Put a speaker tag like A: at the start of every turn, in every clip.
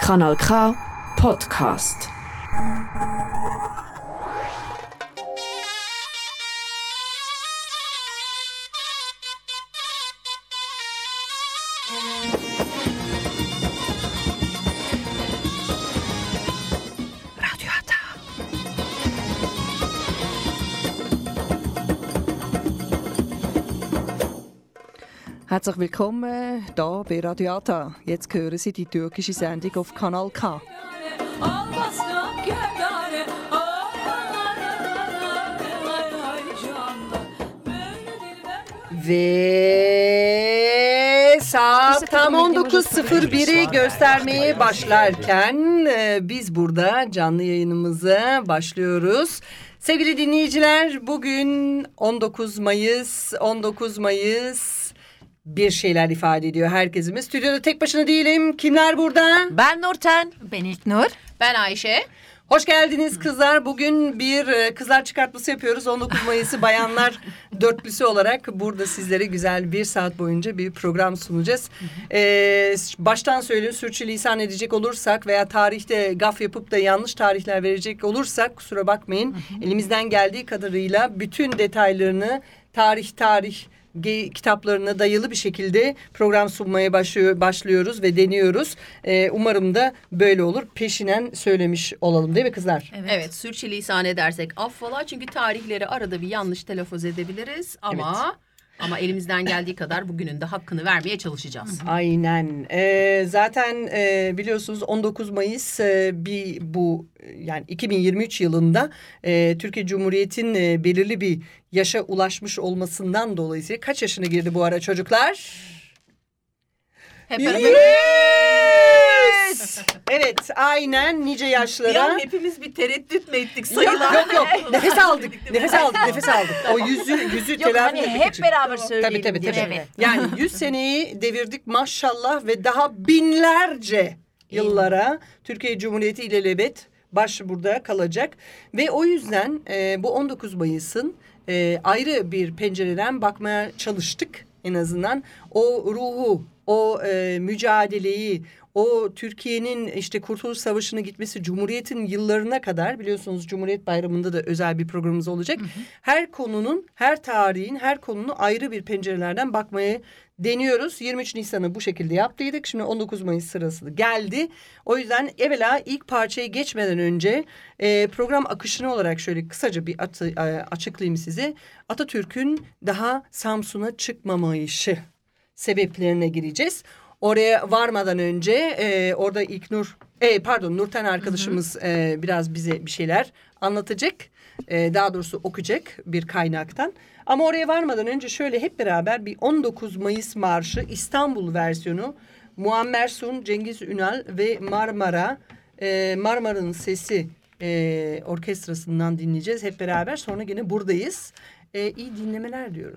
A: Kanal K Podcast.
B: Herzlich willkommen hier bei Radio Ata. Jetzt hören Sie die türkische Sendung auf Kanal K. Ve saat tam 19.01'i göstermeye başlarken biz burada canlı yayınımıza başlıyoruz. Sevgili dinleyiciler, bugün 19 Mayıs bir şeyler ifade ediyor herkesimiz. Stüdyoda tek başına değilim. Kimler burada?
C: Ben Nurten.
D: Ben İlknur.
C: Ben Ayşe.
B: Hoş geldiniz kızlar. Bugün bir kızlar çıkartması yapıyoruz. 19 Mayıs'ı bayanlar dörtlüsü olarak burada sizlere güzel bir saat boyunca bir program sunacağız. Baştan söyleyeyim, sürçülisan edecek olursak veya tarihte gaf yapıp da yanlış tarihler verecek olursak kusura bakmayın. Elimizden geldiği kadarıyla bütün detaylarını tarih kitaplarına dayalı bir şekilde program sunmaya başlıyoruz ve deniyoruz. Umarım da böyle olur. Peşinen söylemiş olalım değil mi kızlar?
C: Evet, sürçülisan edersek affola, çünkü tarihleri arada bir yanlış telaffuz edebiliriz ama elimizden geldiği kadar bugünün de hakkını vermeye çalışacağız.
B: Aynen. Zaten biliyorsunuz 19 Mayıs yani 2023 yılında Türkiye Cumhuriyeti'nin belirli bir yaşa ulaşmış olmasından dolayısıyla kaç yaşına girdi bu ara çocuklar?
C: Hep beraber.
B: Evet, aynen nice yaşlara.
C: Ya hepimiz bir tereddüt mü ettik sayılar?
B: Yok. Nefes aldık. O yüzü
D: Yok,
B: telafi
D: hani
B: etmek
D: hep
B: için.
D: beraber söyleyelim
B: Tabii.
D: diye. Evet.
B: Yani 100 seneyi devirdik maşallah ve daha binlerce yıllara Türkiye Cumhuriyeti ilelebet burada kalacak. Ve o yüzden bu 19 Mayıs'ın ayrı bir pencereden bakmaya çalıştık en azından. O ruhu, o mücadeleyi, o Türkiye'nin işte Kurtuluş Savaşı'na gitmesi, Cumhuriyet'in yıllarına kadar, biliyorsunuz Cumhuriyet Bayramı'nda da özel bir programımız olacak. Her konunun, her tarihin, her konunun ayrı bir pencerelerden bakmaya deniyoruz. 23 Nisan'ı bu şekilde yaptıydık. Şimdi 19 Mayıs sırası geldi. O yüzden evvela ilk parçaya geçmeden önce program akışını olarak şöyle kısaca bir açıklayayım size. Atatürk'ün daha Samsun'a çıkmamayışı sebeplerine gireceğiz. Oraya varmadan önce orada Nurten arkadaşımız biraz bize bir şeyler anlatacak. Daha doğrusu okuyacak bir kaynaktan. Ama oraya varmadan önce şöyle hep beraber bir 19 Mayıs Marşı İstanbul versiyonu Muammer Sun, Cengiz Ünal ve Marmara'nın Sesi orkestrasından dinleyeceğiz hep beraber. Sonra yine buradayız. İyi dinlemeler diyoruz.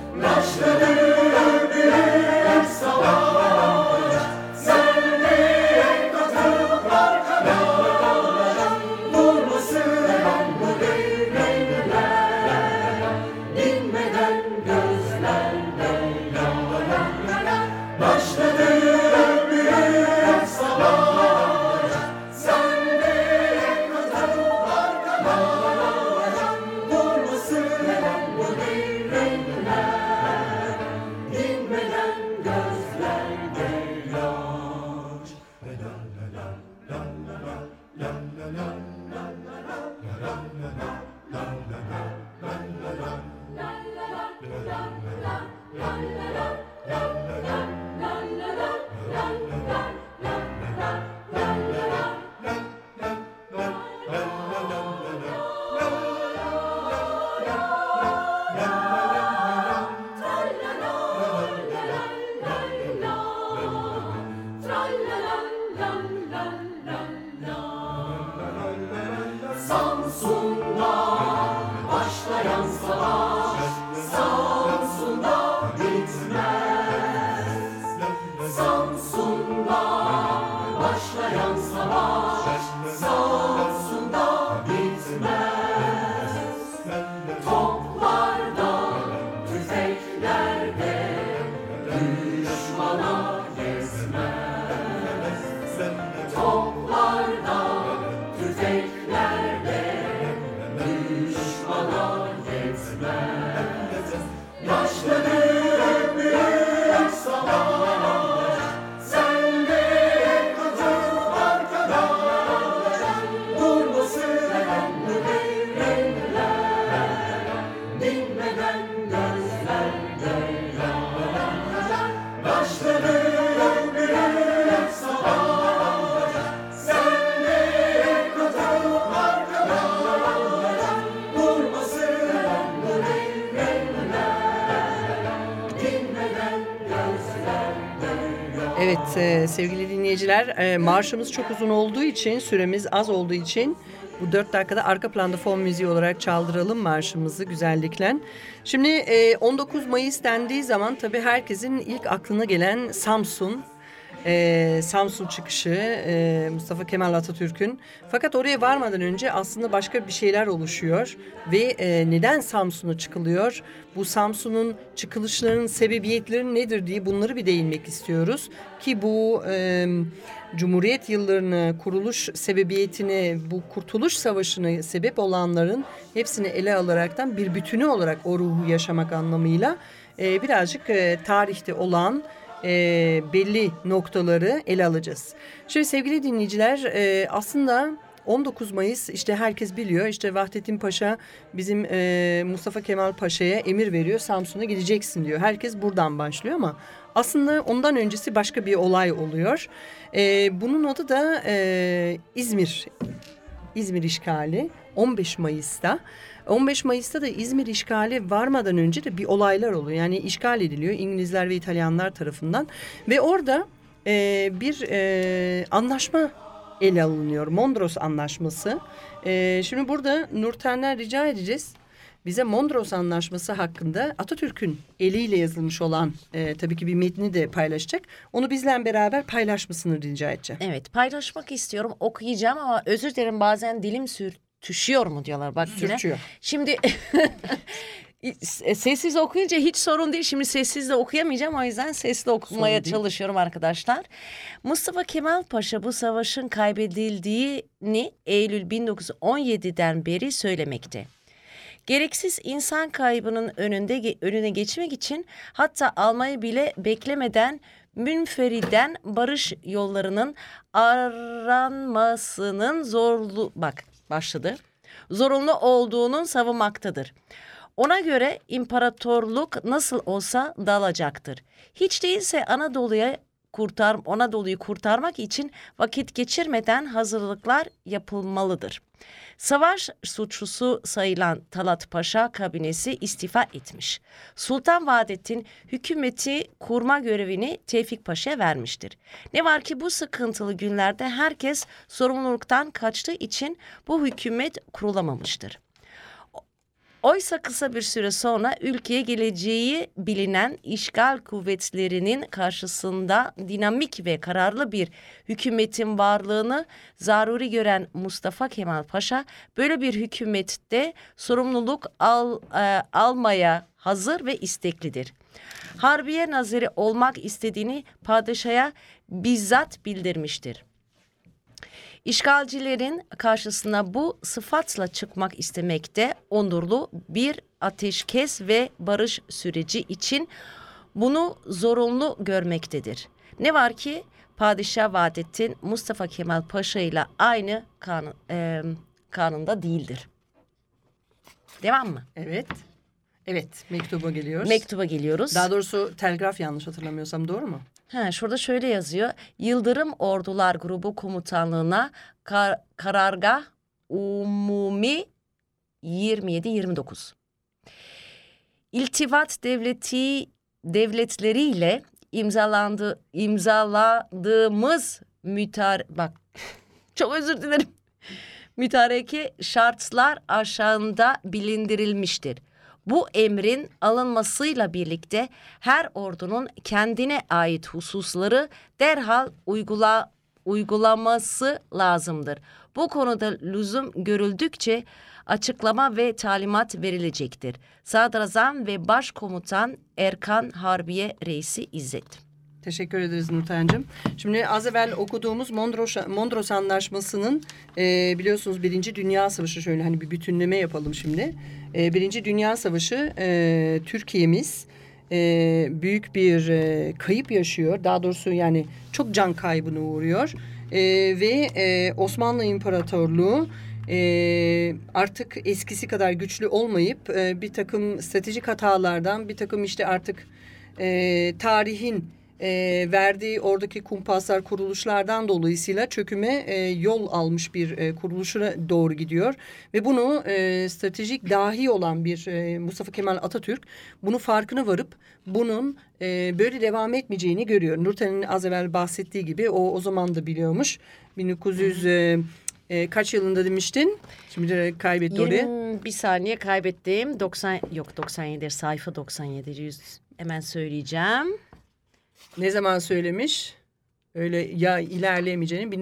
B: Evet sevgili dinleyiciler, marşımız çok uzun olduğu için, süremiz az olduğu için bu 4 dakikada arka planda fon müziği olarak çaldıralım marşımızı güzellikle. Şimdi 19 Mayıs dendiği zaman tabii herkesin ilk aklına gelen Samsun. Samsun çıkışı Mustafa Kemal Atatürk'ün. Fakat oraya varmadan önce aslında başka bir şeyler oluşuyor ve neden Samsun'a çıkılıyor? Bu Samsun'un çıkılışlarının sebebiyetleri nedir diye bunları bir değinmek istiyoruz. Ki bu Cumhuriyet yıllarını, kuruluş sebebiyetini, bu Kurtuluş Savaşı'na sebep olanların hepsini ele alaraktan bir bütünü olarak o ruhu yaşamak anlamıyla birazcık tarihte olan belli noktaları ele alacağız. Şimdi sevgili dinleyiciler, aslında 19 Mayıs işte herkes biliyor. İşte Vahdettin Paşa bizim Mustafa Kemal Paşa'ya emir veriyor. Samsun'a gideceksin diyor. Herkes buradan başlıyor ama aslında ondan öncesi başka bir olay oluyor. Bunun adı da İzmir işgali 15 Mayıs'ta. 15 Mayıs'ta da İzmir işgali varmadan önce de bir olaylar oluyor. Yani işgal ediliyor İngilizler ve İtalyanlar tarafından. Ve orada bir anlaşma ele alınıyor. Mondros Anlaşması. Şimdi burada Nurten'den rica edeceğiz. Bize Mondros Anlaşması hakkında Atatürk'ün eliyle yazılmış olan tabii ki bir metni de paylaşacak. Onu bizle beraber paylaşmasını rica edeceğim.
D: Evet, paylaşmak istiyorum, okuyacağım ama özür dilerim, bazen dilim sürtüşüyor mu diyorlar bak yine.
B: Sürtüyor.
D: Şimdi sessiz okuyunca hiç sorun değil. Şimdi sessiz de okuyamayacağım, o yüzden sesli okumaya çalışıyorum arkadaşlar. Mustafa Kemal Paşa bu savaşın kaybedildiğini Eylül 1917'den beri söylemekte. Gereksiz insan kaybının önüne geçmek için hatta almayı bile beklemeden münferiden barış yollarının aranmasının zorunlu olduğunun savunmaktadır. Ona göre imparatorluk nasıl olsa dalacaktır. Hiç değilse Anadolu'yu kurtarmak için vakit geçirmeden hazırlıklar yapılmalıdır. Savaş suçlusu sayılan Talat Paşa kabinesi istifa etmiş. Sultan Vahdettin hükümeti kurma görevini Tevfik Paşa'ya vermiştir. Ne var ki bu sıkıntılı günlerde herkes sorumluluktan kaçtığı için bu hükümet kurulamamıştır. Oysa kısa bir süre sonra ülkeye geleceği bilinen işgal kuvvetlerinin karşısında dinamik ve kararlı bir hükümetin varlığını zaruri gören Mustafa Kemal Paşa böyle bir hükümette sorumluluk almaya hazır ve isteklidir. Harbiye Nazırı olmak istediğini padişaha bizzat bildirmiştir. İşgalcilerin karşısına bu sıfatla çıkmak istemekte onurlu bir ateşkes ve barış süreci için bunu zorunlu görmektedir. Ne var ki Padişah Vahdettin Mustafa Kemal Paşa ile aynı kanunda değildir. Devam mı?
B: Evet. Evet, mektuba geliyoruz.
D: Mektuba geliyoruz.
B: Daha doğrusu telgraf, yanlış hatırlamıyorsam, doğru mu?
D: Şurada şöyle yazıyor. Yıldırım Ordular Grubu Komutanlığı'na karargah umumi 27-29. İltifat devletleriyle imzaladığımız çok özür dilerim. Mütareke şartlar aşağıda bilindirilmiştir. Bu emrin alınmasıyla birlikte her ordunun kendine ait hususları derhal uygulaması lazımdır. Bu konuda lüzum görüldükçe açıklama ve talimat verilecektir. Sadrazam ve Başkomutan Erkan Harbiye Reisi İzzet.
B: Teşekkür ederiz Nurten'cim. Şimdi az evvel okuduğumuz Mondros Anlaşması'nın biliyorsunuz Birinci Dünya Savaşı, şöyle hani bir bütünleme yapalım şimdi. Birinci Dünya Savaşı Türkiye'miz büyük bir kayıp yaşıyor. Daha doğrusu yani çok can kaybına uğruyor. Ve Osmanlı İmparatorluğu artık eskisi kadar güçlü olmayıp bir takım stratejik hatalardan, bir takım işte artık tarihin verdiği oradaki kumpaslar, kuruluşlardan dolayısıyla çöküme yol almış bir kuruluşuna doğru gidiyor. Ve bunu stratejik dahi olan bir Mustafa Kemal Atatürk bunun farkına varıp bunun böyle devam etmeyeceğini görüyor. Nurten'in az evvel bahsettiği gibi o zaman da biliyormuş. 1900 kaç yılında demiştin? Şimdi de kaybetti oraya.
D: Bir saniye kaybettim. 97 sayfa 97. Hemen söyleyeceğim.
B: Ne zaman söylemiş? Öyle ya ilerleyemeyeceğini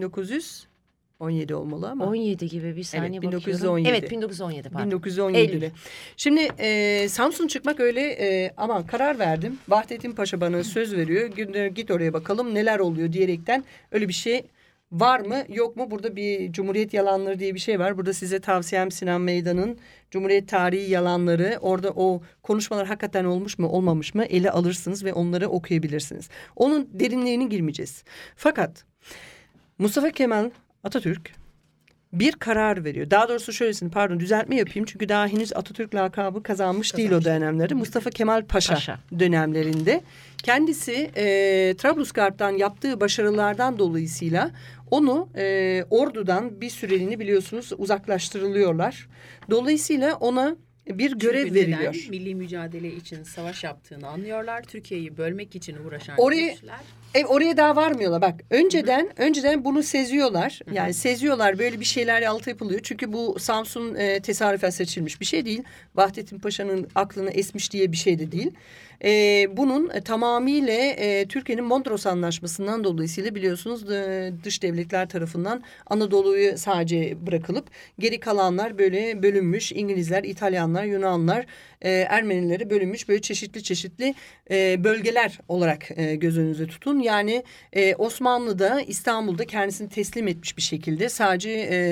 B: 1917 olmalı ama.
D: 17 gibi bir saniye
B: evet,
D: bakıyorum.
B: 1917.
D: Evet 1917 pardon.
B: 1917'de. Şimdi Samsun çıkmak öyle ama karar verdim. Vahdettin Paşa bana söz veriyor. Git oraya bakalım neler oluyor diyerekten öyle bir şey var mı yok mu? Burada bir Cumhuriyet Yalanları diye bir şey var. Burada size tavsiyem Sinan Meydan'ın Cumhuriyet Tarihi Yalanları. Orada o konuşmalar hakikaten olmuş mu olmamış mı ele alırsınız ve onları okuyabilirsiniz. Onun derinliğine girmeyeceğiz. Fakat Mustafa Kemal Atatürk bir karar veriyor. Daha doğrusu şöylesini düzeltme yapayım. Çünkü daha henüz Atatürk lakabı kazanmış değil o dönemlerde. Mustafa Kemal Paşa dönemlerinde. Kendisi Trablusgarp'tan yaptığı başarılardan dolayısıyla onu ordudan bir süreliğine biliyorsunuz uzaklaştırılıyorlar. Dolayısıyla ona bir görev veriliyor.
C: Neden? Milli mücadele için savaş yaptığını anlıyorlar. Türkiye'yi bölmek için uğraşan güçler.
B: Oraya daha varmıyorlar. Bak önceden bunu seziyorlar. Yani seziyorlar, böyle bir şeyler altı yapılıyor. Çünkü bu Samsun tesadüfen seçilmiş bir şey değil. Vahdettin Paşa'nın aklını esmiş diye bir şey de değil. Bunun tamamıyla Türkiye'nin Mondros Anlaşması'ndan dolayısıyla biliyorsunuz dış devletler tarafından Anadolu'yu sadece bırakılıp geri kalanlar böyle bölünmüş. İngilizler, İtalyanlar, Yunanlar, Ermenileri bölünmüş böyle çeşitli bölgeler olarak göz önünüze tutun. Yani Osmanlı'da İstanbul'da kendisini teslim etmiş bir şekilde sadece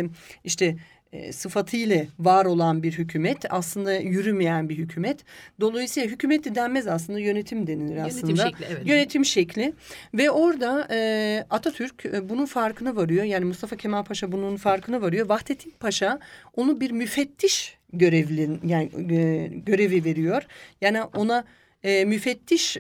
B: sıfatıyla var olan bir hükümet, aslında yürümeyen bir hükümet. Dolayısıyla hükümet de denmez aslında, yönetim denilir aslında.
C: Yönetim şekli, evet.
B: Yönetim şekli ve orada Atatürk bunun farkına varıyor. Yani Mustafa Kemal Paşa bunun farkına varıyor. Vahdettin Paşa onu bir müfettiş görevi veriyor. Yani ona müfettiş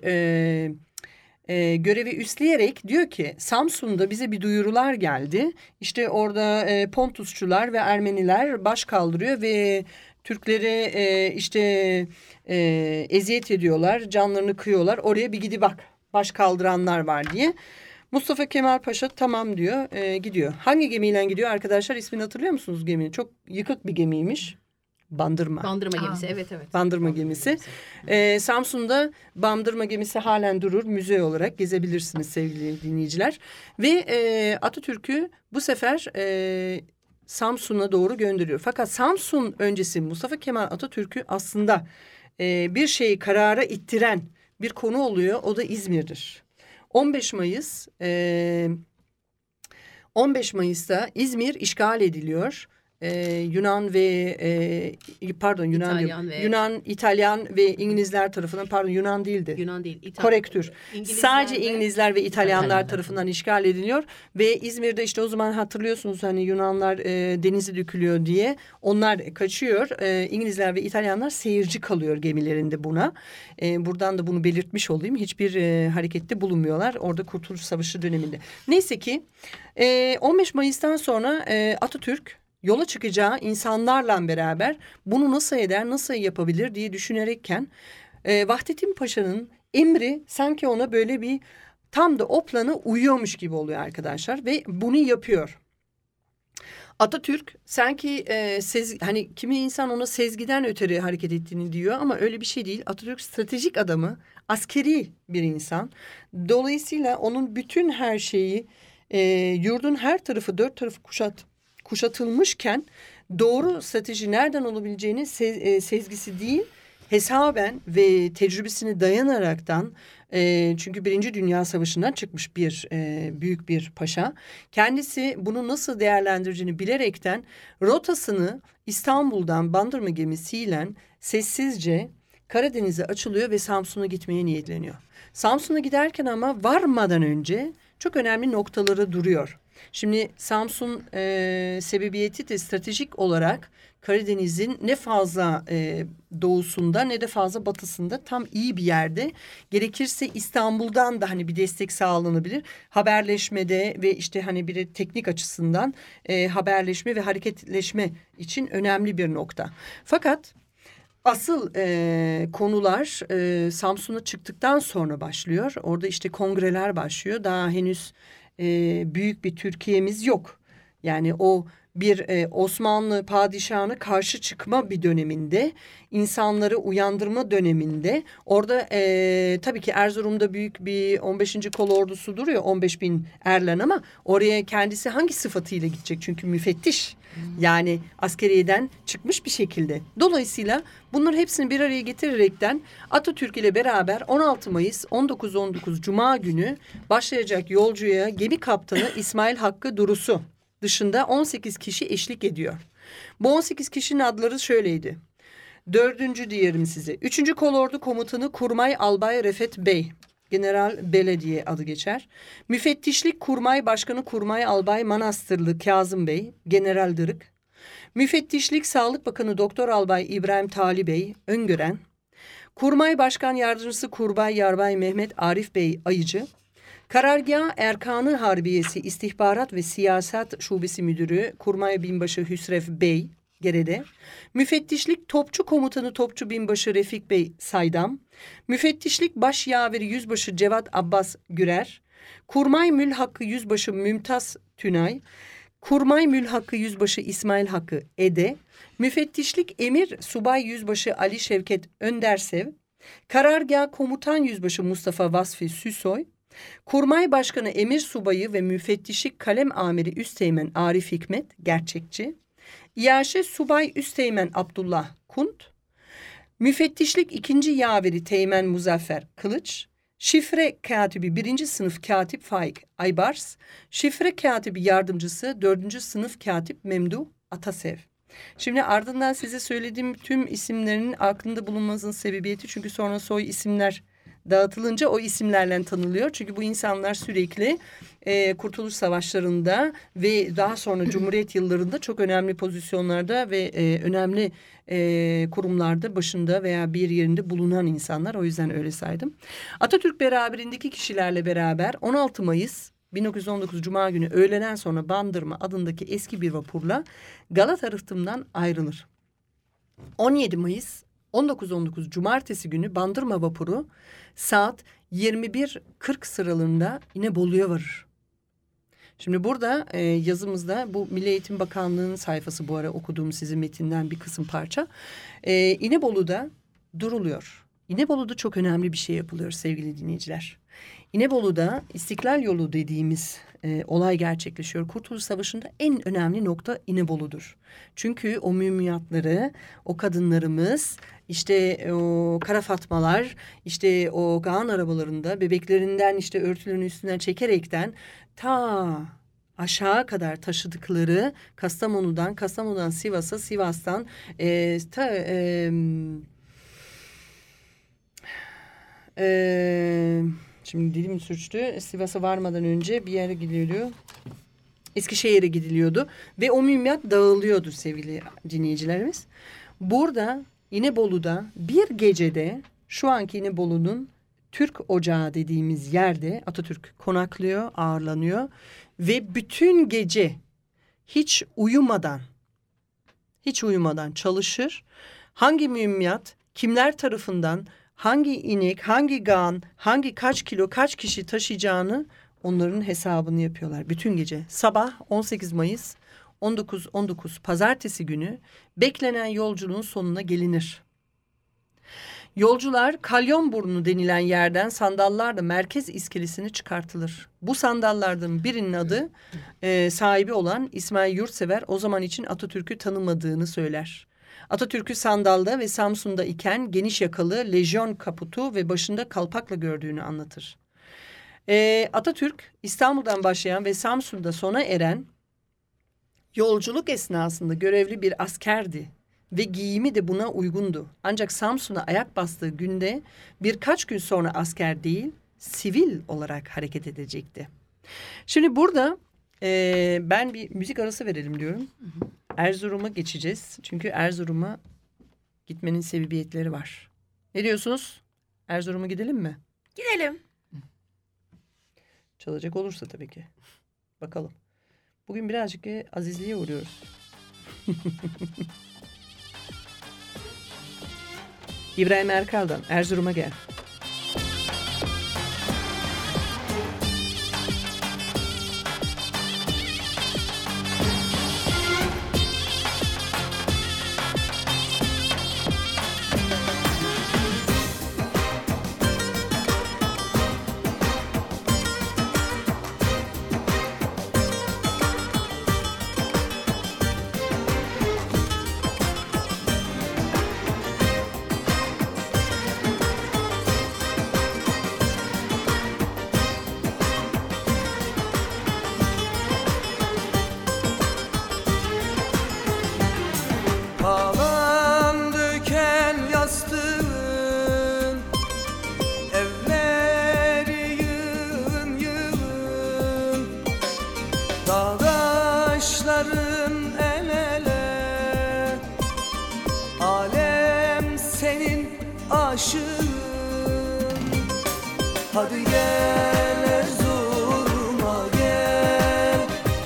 B: görevi üstleyerek diyor ki Samsun'da bize bir duyurular geldi. İşte orada Pontusçular ve Ermeniler baş kaldırıyor ve Türklere eziyet ediyorlar, canlarını kıyıyorlar. Oraya bir gidi bak, baş kaldıranlar var diye. Mustafa Kemal Paşa tamam diyor, gidiyor. Hangi gemiyle gidiyor arkadaşlar? İsmini hatırlıyor musunuz geminin? Çok yıkık bir gemiymiş. Bandırma.
C: Bandırma gemisi, evet.
B: Bandırma gemisi. Samsun'da Bandırma gemisi halen durur. Müze olarak gezebilirsiniz sevgili dinleyiciler. Ve Atatürk'ü bu sefer Samsun'a doğru gönderiyor. Fakat Samsun öncesi Mustafa Kemal Atatürk'ü aslında bir şeyi karara ittiren bir konu oluyor. O da İzmir'dir. 15 Mayıs'ta İzmir işgal ediliyor. Yunan, İtalyan ve İngilizler tarafından, pardon Yunan değildi.
C: Yunan değil.
B: Korektür. Sadece İngilizler ve İtalyanlar tarafından işgal ediliyor ve İzmir'de işte o zaman hatırlıyorsunuz hani Yunanlar denize dökülüyor diye onlar kaçıyor. İngilizler ve İtalyanlar seyirci kalıyor gemilerinde buna. Buradan da bunu belirtmiş olayım. Hiçbir harekette bulunmuyorlar orada Kurtuluş Savaşı döneminde. Neyse ki 15 Mayıs'tan sonra Atatürk yola çıkacağı insanlarla beraber bunu nasıl eder, nasıl yapabilir diye düşünerekken Vahdettin Paşa'nın emri sanki ona böyle bir tam da o plana uyuyormuş gibi oluyor arkadaşlar ve bunu yapıyor. Atatürk sanki hani kimi insan ona sezgiden ötürü hareket ettiğini diyor ama öyle bir şey değil. Atatürk stratejik adamı, askeri bir insan. Dolayısıyla onun bütün her şeyi yurdun her tarafı, dört tarafı kuşatılmışken doğru strateji nereden olabileceğini sezgisi değil, hesaben ve tecrübesine dayanaraktan çünkü Birinci Dünya Savaşı'ndan çıkmış bir büyük bir paşa. Kendisi bunu nasıl değerlendireceğini bilerekten rotasını İstanbul'dan Bandırma gemisiyle sessizce Karadeniz'e açılıyor ve Samsun'a gitmeye niyetleniyor. Samsun'a giderken ama varmadan önce çok önemli noktaları duruyor. Şimdi Samsun sebebiyeti de stratejik olarak Karadeniz'in ne fazla doğusunda ne de fazla batısında tam iyi bir yerde. Gerekirse İstanbul'dan da hani bir destek sağlanabilir. Haberleşmede ve işte hani bir teknik açısından haberleşme ve hareketleşme için önemli bir nokta. Fakat asıl konular Samsun'a çıktıktan sonra başlıyor. Orada işte kongreler başlıyor. Daha henüz büyük bir Türkiye'miz yok. Yani o bir Osmanlı padişahına karşı çıkma bir döneminde, insanları uyandırma döneminde. Orada tabii ki Erzurum'da büyük bir 15. kolordusu duruyor, 15.000 erlen ama oraya kendisi hangi sıfatıyla gidecek? Çünkü müfettiş. Yani askeriyeden çıkmış bir şekilde. Dolayısıyla bunların hepsini bir araya getirerekten Atatürk ile beraber 16 Mayıs 1919 Cuma günü başlayacak yolcuya gemi kaptanı İsmail Hakkı Durusu dışında 18 kişi eşlik ediyor. Bu 18 kişinin adları şöyleydi. 4. diyelim size. 3. Kolordu Komutanı Kurmay Albay Refet Bey. General Belediye adı geçer. Müfettişlik Kurmay Başkanı Kurmay Albay Manastırlı Kazım Bey, General Dırık. Müfettişlik Sağlık Bakanı Doktor Albay İbrahim Tali Bey, Öngören. Kurmay Başkan Yardımcısı Kurbay Yarbay Mehmet Arif Bey Ayıcı. Karargah Erkanı Harbiyesi İstihbarat ve Siyaset Şubesi Müdürü Kurmay Binbaşı Hüsrev Bey, Gerede. Müfettişlik Topçu Komutanı Topçu Binbaşı Refik Bey Saydam. Müfettişlik Baş Yaveri Yüzbaşı Cevat Abbas Gürer. Kurmay Mülhakkı Yüzbaşı Mümtaz Tünay. Kurmay Mülhakkı Yüzbaşı İsmail Hakkı Ede. Müfettişlik Emir Subay Yüzbaşı Ali Şevket Öndersev. Karargah Komutan Yüzbaşı Mustafa Vasfi Süsoy. Kurmay Başkanı Emir Subayı ve Müfettişlik Kalem Amiri Üsteğmen Arif Hikmet Gerçekçi. İyaşe Subay Üsteğmen Abdullah Kunt. Müfettişlik 2. Yaveri Teğmen Muzaffer Kılıç. Şifre Katibi 1. Sınıf Katip Faik Aybars. Şifre Katibi Yardımcısı 4. Sınıf Katip Memduh Atasev. Şimdi ardından size söylediğim tüm isimlerin aklında bulunmasının sebebiyeti çünkü sonra soy isimler dağıtılınca o isimlerle tanınıyor. Çünkü bu insanlar sürekli Kurtuluş Savaşları'nda ve daha sonra Cumhuriyet yıllarında çok önemli pozisyonlarda ve önemli kurumlarda başında veya bir yerinde bulunan insanlar. O yüzden öyle saydım. Atatürk beraberindeki kişilerle beraber 16 Mayıs 1919 Cuma günü öğleden sonra Bandırma adındaki eski bir vapurla Galata Rıhtım'dan ayrılır. 17 Mayıs 1919 Cumartesi günü Bandırma vapuru saat 21.40 sıralarında yine Bolu'ya varır. Şimdi burada yazımızda bu Milli Eğitim Bakanlığı'nın sayfası, bu ara okuduğum sizin metinden bir kısım parça. İnebolu'da duruluyor. İnebolu'da çok önemli bir şey yapılıyor sevgili dinleyiciler. İnebolu'da İstiklal Yolu dediğimiz olay gerçekleşiyor. Kurtuluş Savaşı'nda en önemli nokta İnebolu'dur. Çünkü o mühimmatları, o kadınlarımız, işte o kara fatmalar, işte o Kaan arabalarında bebeklerinden işte örtülerin üstünden çekerekten ta aşağı kadar taşıdıkları Kastamonu'dan Sivas'a, Sivas'tan şimdi dilim sürçtü. Sivas'a varmadan önce bir yere gidiliyordu. Eskişehir'e gidiliyordu. Ve o mühimmat dağılıyordu sevgili dinleyicilerimiz. Burada İnebolu'da bir gecede şu anki İnebolu'nun Türk Ocağı dediğimiz yerde Atatürk konaklıyor, ağırlanıyor. Ve bütün gece hiç uyumadan çalışır. Hangi mühimmat, kimler tarafından, hangi inek, hangi gan, hangi kaç kilo, kaç kişi taşıyacağını onların hesabını yapıyorlar bütün gece. Sabah 18 Mayıs 19.19 pazartesi günü beklenen yolculuğun sonuna gelinir. Yolcular Kalyonburnu denilen yerden sandallarla merkez iskelesine çıkartılır. Bu sandallardan birinin adı sahibi olan İsmail Yurtsever o zaman için Atatürk'ü tanımadığını söyler. Atatürk'ü sandalda ve Samsun'da iken geniş yakalı lejyon kaputu ve başında kalpakla gördüğünü anlatır. Atatürk İstanbul'dan başlayan ve Samsun'da sona eren yolculuk esnasında görevli bir askerdi ve giyimi de buna uygundu. Ancak Samsun'a ayak bastığı günde birkaç gün sonra asker değil, sivil olarak hareket edecekti. Şimdi burada ben bir müzik arası verelim diyorum. Erzurum'a geçeceğiz. Çünkü Erzurum'a gitmenin sebebiyetleri var. Ne diyorsunuz? Erzurum'a gidelim mi?
D: Gidelim.
B: Çalacak olursa tabii ki. Bakalım. Bugün birazcık azizliğe uğruyoruz. İbrahim Erkal'dan Erzurum'a gel.
E: Hadi gel Erzurum'a gel,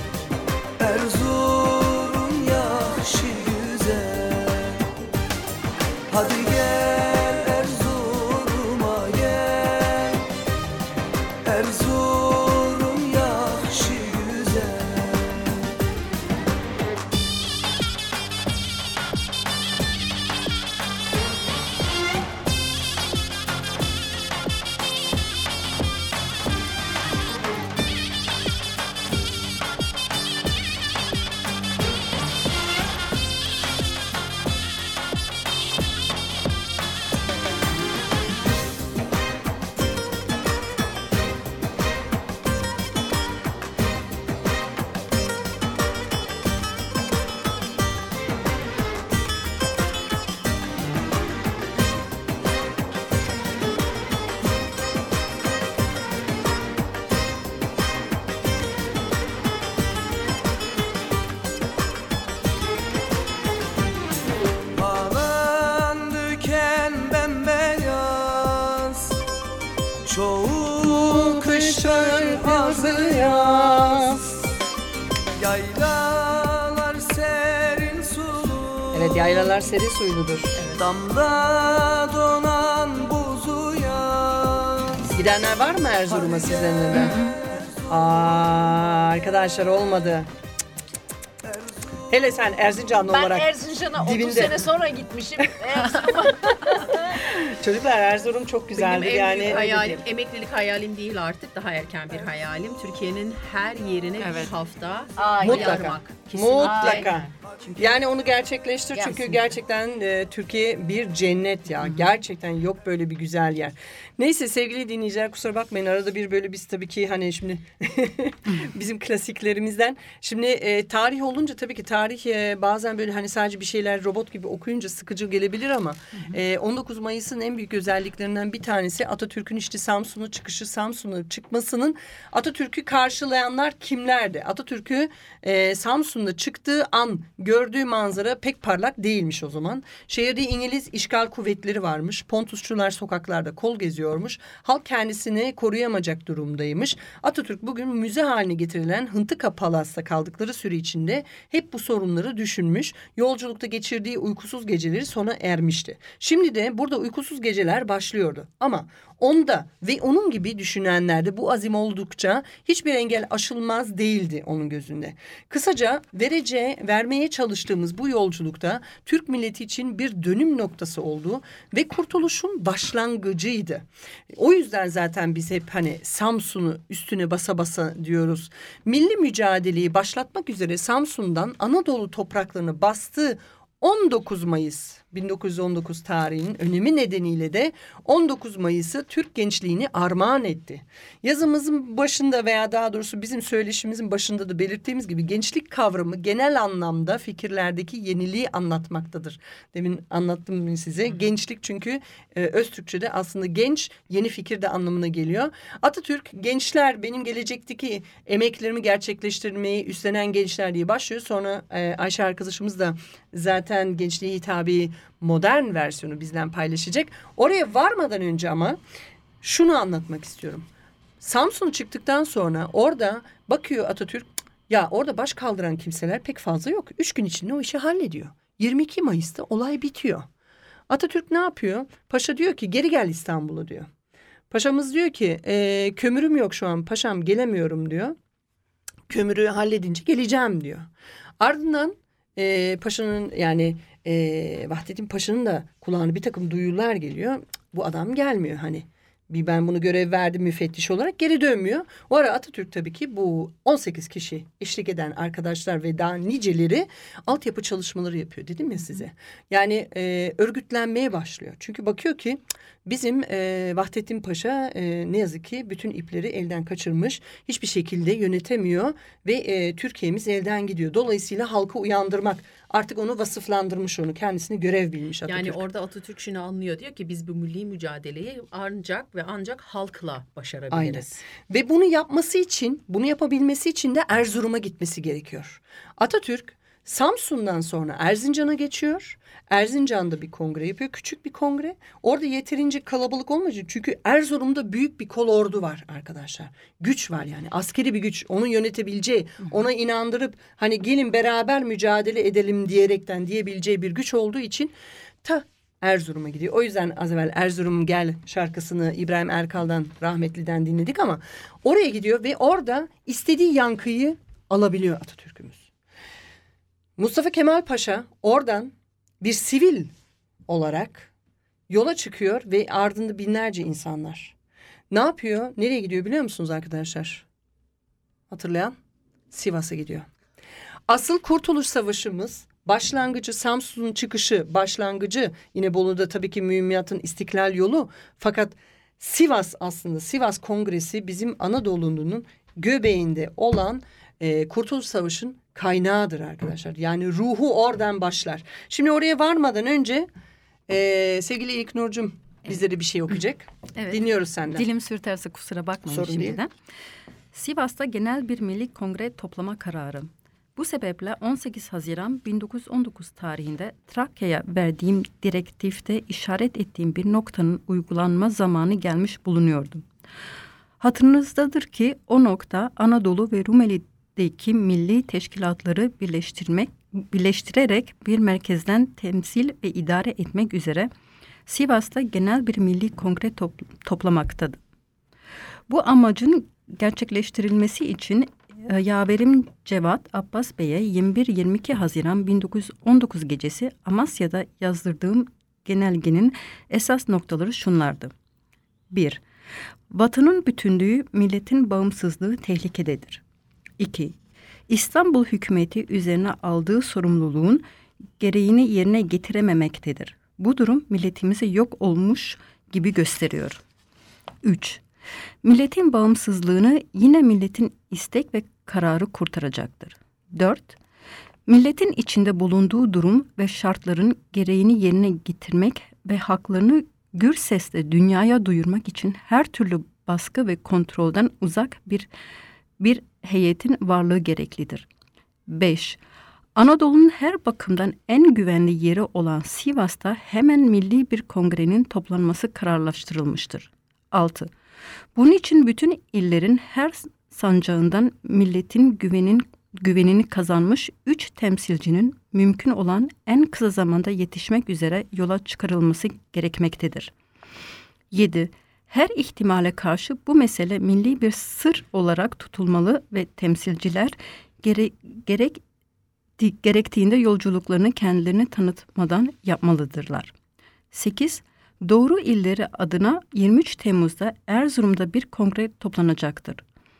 E: Erzurum yakşı güzel. Hadi gel Erzurum'a gel, Erzurum yakşı güzel. Çoğu kışın azı yaz, yaylalar serin sulu.
B: Evet, yaylalar serin suyludur.
E: Damda donan buzu yaz.
B: Gidenler var mı Erzurum'a sizden de? Arkadaşlar olmadı. Hele sen Erzincanlı
D: Ben
B: olarak
D: Erzincan'a 30
B: dibinde.
D: sene sonra gitmişim.
B: Çocuklar Erzurum çok güzeldi
C: Benim en
B: yani.
C: büyük
B: öyle
C: hayalim,
B: diyeyim.
C: emeklilik hayalim değil artık, daha erken bir hayalim. Türkiye'nin her yerine bir hafta
B: Mutlaka.
C: yarmak. Kesinlikle.
B: Mutlaka. Yani onu gerçekleştir çünkü
D: Gelsin.
B: gerçekten Türkiye bir cennet ya. Gerçekten yok böyle bir güzel yer. Neyse sevgili dinleyiciler, kusura bakmayın, arada bir böyle biz tabii ki hani şimdi bizim klasiklerimizden. Şimdi tarih olunca tabii ki tarih bazen böyle hani sadece bir şeyler robot gibi okuyunca sıkıcı gelebilir ama 19 Mayıs'ın en büyük özelliklerinden bir tanesi Atatürk'ün işte Samsun'a çıkışı, Samsun'a çıkmasının. Atatürk'ü karşılayanlar kimlerdi? Atatürk'ü Samsun'da çıktığı an gördüğü manzara pek parlak değilmiş o zaman. Şehirde İngiliz işgal kuvvetleri varmış. Pontusçular sokaklarda kol geziyormuş. Halk kendisini koruyamayacak durumdaymış. Atatürk bugün müze haline getirilen Hıntıka Palas'ta kaldıkları süre içinde hep bu sorunları düşünmüş. Yolculukta geçirdiği uykusuz geceleri sona ermişti. Şimdi de burada uykusuz geceler başlıyordu. Ama onda ve onun gibi düşünenlerde bu azim oldukça hiçbir engel aşılmaz değildi onun gözünde. Kısaca vermeye çalıştığımız bu yolculukta Türk milleti için bir dönüm noktası oldu ve kurtuluşun başlangıcıydı. O yüzden zaten biz hep hani Samsun'u üstüne basa basa diyoruz. Milli mücadeleyi başlatmak üzere Samsun'dan Anadolu topraklarını bastığı 19 Mayıs 1919 tarihinin önemi nedeniyle de 19 Mayıs'ı Türk gençliğini armağan etti. Yazımızın başında veya daha doğrusu bizim söyleşimizin başında da belirttiğimiz gibi gençlik kavramı genel anlamda fikirlerdeki yeniliği anlatmaktadır. Demin anlattım size. Gençlik çünkü Öztürkçe'de aslında genç, yeni fikir de anlamına geliyor. Atatürk gençler benim gelecekteki emeklerimi gerçekleştirmeyi üstlenen gençler diye başlıyor. Sonra Ayşe arkadaşımız da zaten gençliğe hitabi modern versiyonu bizden paylaşacak. Oraya varmadan önce ama şunu anlatmak istiyorum. Samsun çıktıktan sonra orada bakıyor Atatürk, ya orada baş kaldıran kimseler pek fazla yok. 3 gün içinde o işi hallediyor. 22 Mayıs'ta olay bitiyor. Atatürk ne yapıyor? Paşa diyor ki geri gel İstanbul'a diyor. Paşamız diyor ki kömürüm yok şu an paşam, gelemiyorum diyor. Kömürü halledince geleceğim diyor. Ardından paşanın yani Vahdettin Paşa'nın da kulağına bir takım duyular geliyor. Bu adam gelmiyor hani. Ben bunu görev verdim müfettiş olarak, geri dönmüyor. O ara Atatürk tabii ki bu 18 kişi eşlik eden arkadaşlar ve daha niceleri altyapı çalışmaları yapıyor dedim ya size. Yani örgütlenmeye başlıyor. Çünkü bakıyor ki bizim Vahdettin Paşa ne yazık ki bütün ipleri elden kaçırmış. Hiçbir şekilde yönetemiyor ve Türkiye'miz elden gidiyor. Dolayısıyla halkı uyandırmak, artık onu vasıflandırmış, onu kendisini görev bilmiş Atatürk.
C: Yani orada Atatürk şunu anlıyor, diyor ki biz bu milli mücadeleyi ancak halkla başarabiliriz.
B: Aynen. Ve bunu yapabilmesi için de Erzurum'a gitmesi gerekiyor. Atatürk Samsun'dan sonra Erzincan'a geçiyor. Erzincan'da bir kongre yapıyor. Küçük bir kongre. Orada yeterince kalabalık olmayacak. Çünkü Erzurum'da büyük bir kolordu var arkadaşlar. Güç var yani. Askeri bir güç. Onu yönetebileceği, ona inandırıp hani gelin beraber mücadele edelim diyebileceği bir güç olduğu için Erzurum'a gidiyor. O yüzden az evvel Erzurum Gel şarkısını İbrahim Erkal'dan, rahmetliden dinledik ama oraya gidiyor ve orada istediği yankıyı alabiliyor Atatürk'ümüz. Mustafa Kemal Paşa oradan bir sivil olarak yola çıkıyor ve ardında binlerce insanlar. Ne yapıyor? Nereye gidiyor biliyor musunuz arkadaşlar? Hatırlayan? Sivas'a gidiyor. Asıl Kurtuluş Savaşımız başlangıcı, Samsun'un çıkışı, başlangıcı yine Bolu'da tabii ki mühimmatın istiklal yolu. Fakat Sivas, aslında Sivas Kongresi bizim Anadolu'nun göbeğinde olan Kurtuluş Savaşı'nın kaynağıdır arkadaşlar. Yani ruhu oradan başlar. Şimdi oraya varmadan önce sevgili İlknur'cum bizlere bir şey okuyacak.
F: Evet.
B: Dinliyoruz senden.
F: Dilim sürterse kusura bakmayın
B: Sorun
F: şimdiden.
B: değil.
F: Sivas'ta genel bir milli kongre toplama kararı. Bu sebeple 18 Haziran 1919 tarihinde Trakya'ya verdiğim direktifte işaret ettiğim bir noktanın uygulanma zamanı gelmiş bulunuyordu. Hatırınızdadır ki o nokta Anadolu ve Rumeli'deki milli teşkilatları birleştirerek bir merkezden temsil ve idare etmek üzere Sivas'ta genel bir milli kongre toplamaktadır. Bu amacın gerçekleştirilmesi için yaverim Cevat Abbas Bey'e 21-22 Haziran 1919 gecesi Amasya'da yazdırdığım genelgenin esas noktaları şunlardı. 1. Vatanın bütünlüğü, milletin bağımsızlığı tehlikededir. 2. İstanbul hükümeti üzerine aldığı sorumluluğun gereğini yerine getirememektedir. Bu durum milletimizi yok olmuş gibi gösteriyor. 3. Milletin bağımsızlığını yine milletin istek ve kararı kurtaracaktır. 4. Milletin içinde bulunduğu durum ve şartların gereğini yerine getirmek ve haklarını gür sesle dünyaya duyurmak için her türlü baskı ve kontrolden uzak bir heyetin varlığı gereklidir. 5. Anadolu'nun her bakımdan en güvenli yeri olan Sivas'ta hemen milli bir kongrenin toplanması kararlaştırılmıştır. 6. Bunun için bütün illerin her sancağından milletin güvenini kazanmış 3 temsilcinin mümkün olan en kısa zamanda yetişmek üzere yola çıkarılması gerekmektedir. 7. Her ihtimale karşı bu mesele milli bir sır olarak tutulmalı ve temsilciler gerektiğinde yolculuklarını kendilerini tanıtmadan yapmalıdırlar. 8. Doğru illeri adına 23 Temmuz'da Erzurum'da bir kongre toplanacaktır.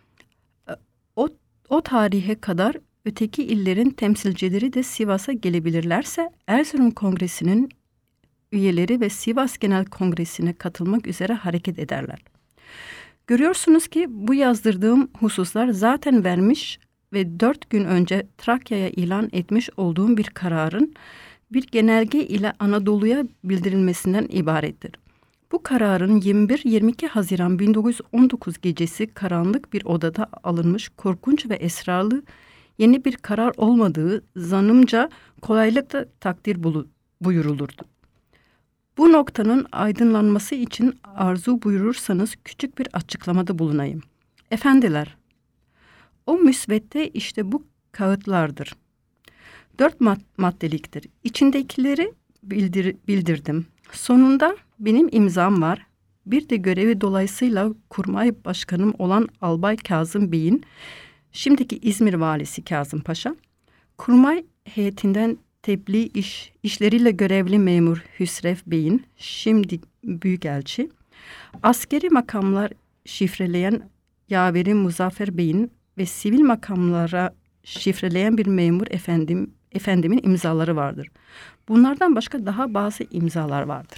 F: O tarihe kadar öteki illerin temsilcileri de Sivas'a gelebilirlerse Erzurum Kongresi'nin üyeleri ve Sivas Genel Kongresi'ne katılmak üzere hareket ederler. Görüyorsunuz ki bu yazdırdığım hususlar zaten vermiş ve 4 gün önce Trakya'ya ilan etmiş olduğum bir kararın bir genelge ile Anadolu'ya bildirilmesinden ibarettir. Bu kararın 21-22 Haziran 1919 gecesi karanlık bir odada alınmış korkunç ve esrarlı yeni bir karar olmadığı zannımca kolaylıkla takdir buyurulurdu. Bu noktanın aydınlanması için arzu buyurursanız küçük bir açıklamada bulunayım. Efendiler, o müsvedde işte bu kağıtlardır. 4 maddeliktir. İçindekileri bildirdim. Sonunda benim imzam var. Bir de görevi dolayısıyla kurmay başkanım olan Albay Kazım Bey'in, şimdiki İzmir valisi Kazım Paşa, kurmay heyetinden tebliğ işleriyle görevli memur Hüsrev Bey'in, şimdi büyükelçi, askeri makamlar şifreleyen yaveri Muzaffer Bey'in ve sivil makamlara şifreleyen bir memur efendimin imzaları vardır. Bunlardan başka daha bazı imzalar vardır.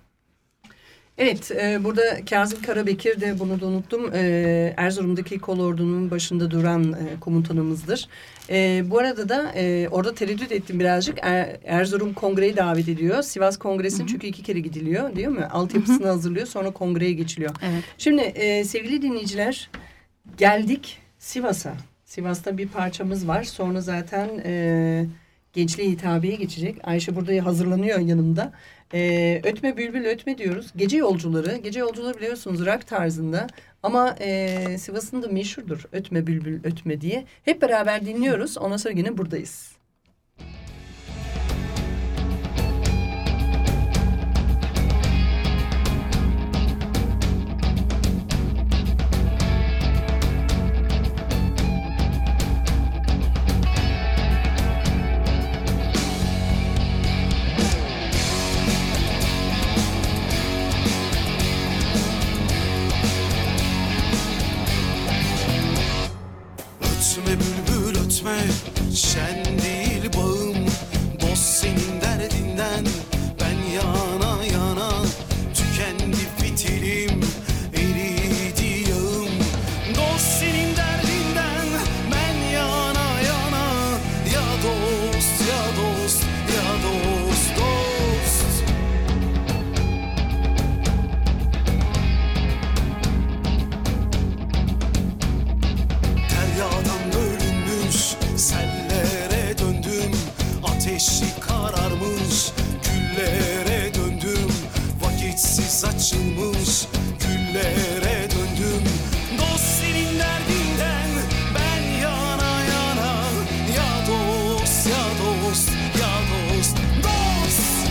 B: Evet, burada Kazım Karabekir de, bunu da unuttum, Erzurum'daki kolordunun başında duran komutanımızdır. Bu arada da orada tereddüt ettim birazcık. Erzurum Kongre'yi davet ediyor. Sivas Kongresi'nin çünkü 2 kere gidiliyor, değil mi? Altyapısını hazırlıyor, sonra kongreye geçiliyor.
F: Evet.
B: Şimdi sevgili dinleyiciler, geldik Sivas'a. Sivas'ta bir parçamız var. Sonra zaten gençliğe hitabeye geçecek. Ayşe burada hazırlanıyor yanımda. Ötme bülbül ötme diyoruz. Gece yolcuları. Gece yolcuları biliyorsunuz rock tarzında. Ama Sivas'ın da meşhurdur. Ötme bülbül ötme diye. Hep beraber dinliyoruz. Ondan sonra yine buradayız.
E: Ötme bülbül ötme, şen değil bağım. Dost senin derdinden, ben yana yana. Tükendi fitilim, eridi yağım. Dost senin derdinden, ben yana yana. Ya dost, ya dost, ya dost, dost. Deryadan bölünmüş, sellere döndüm. Ateşi kararmış, güllere döndüm. Vakitsiz açılmış, güllere döndüm. Dost senin derdinden, ben yana yana. Ya dost, ya dost, ya dost, dost.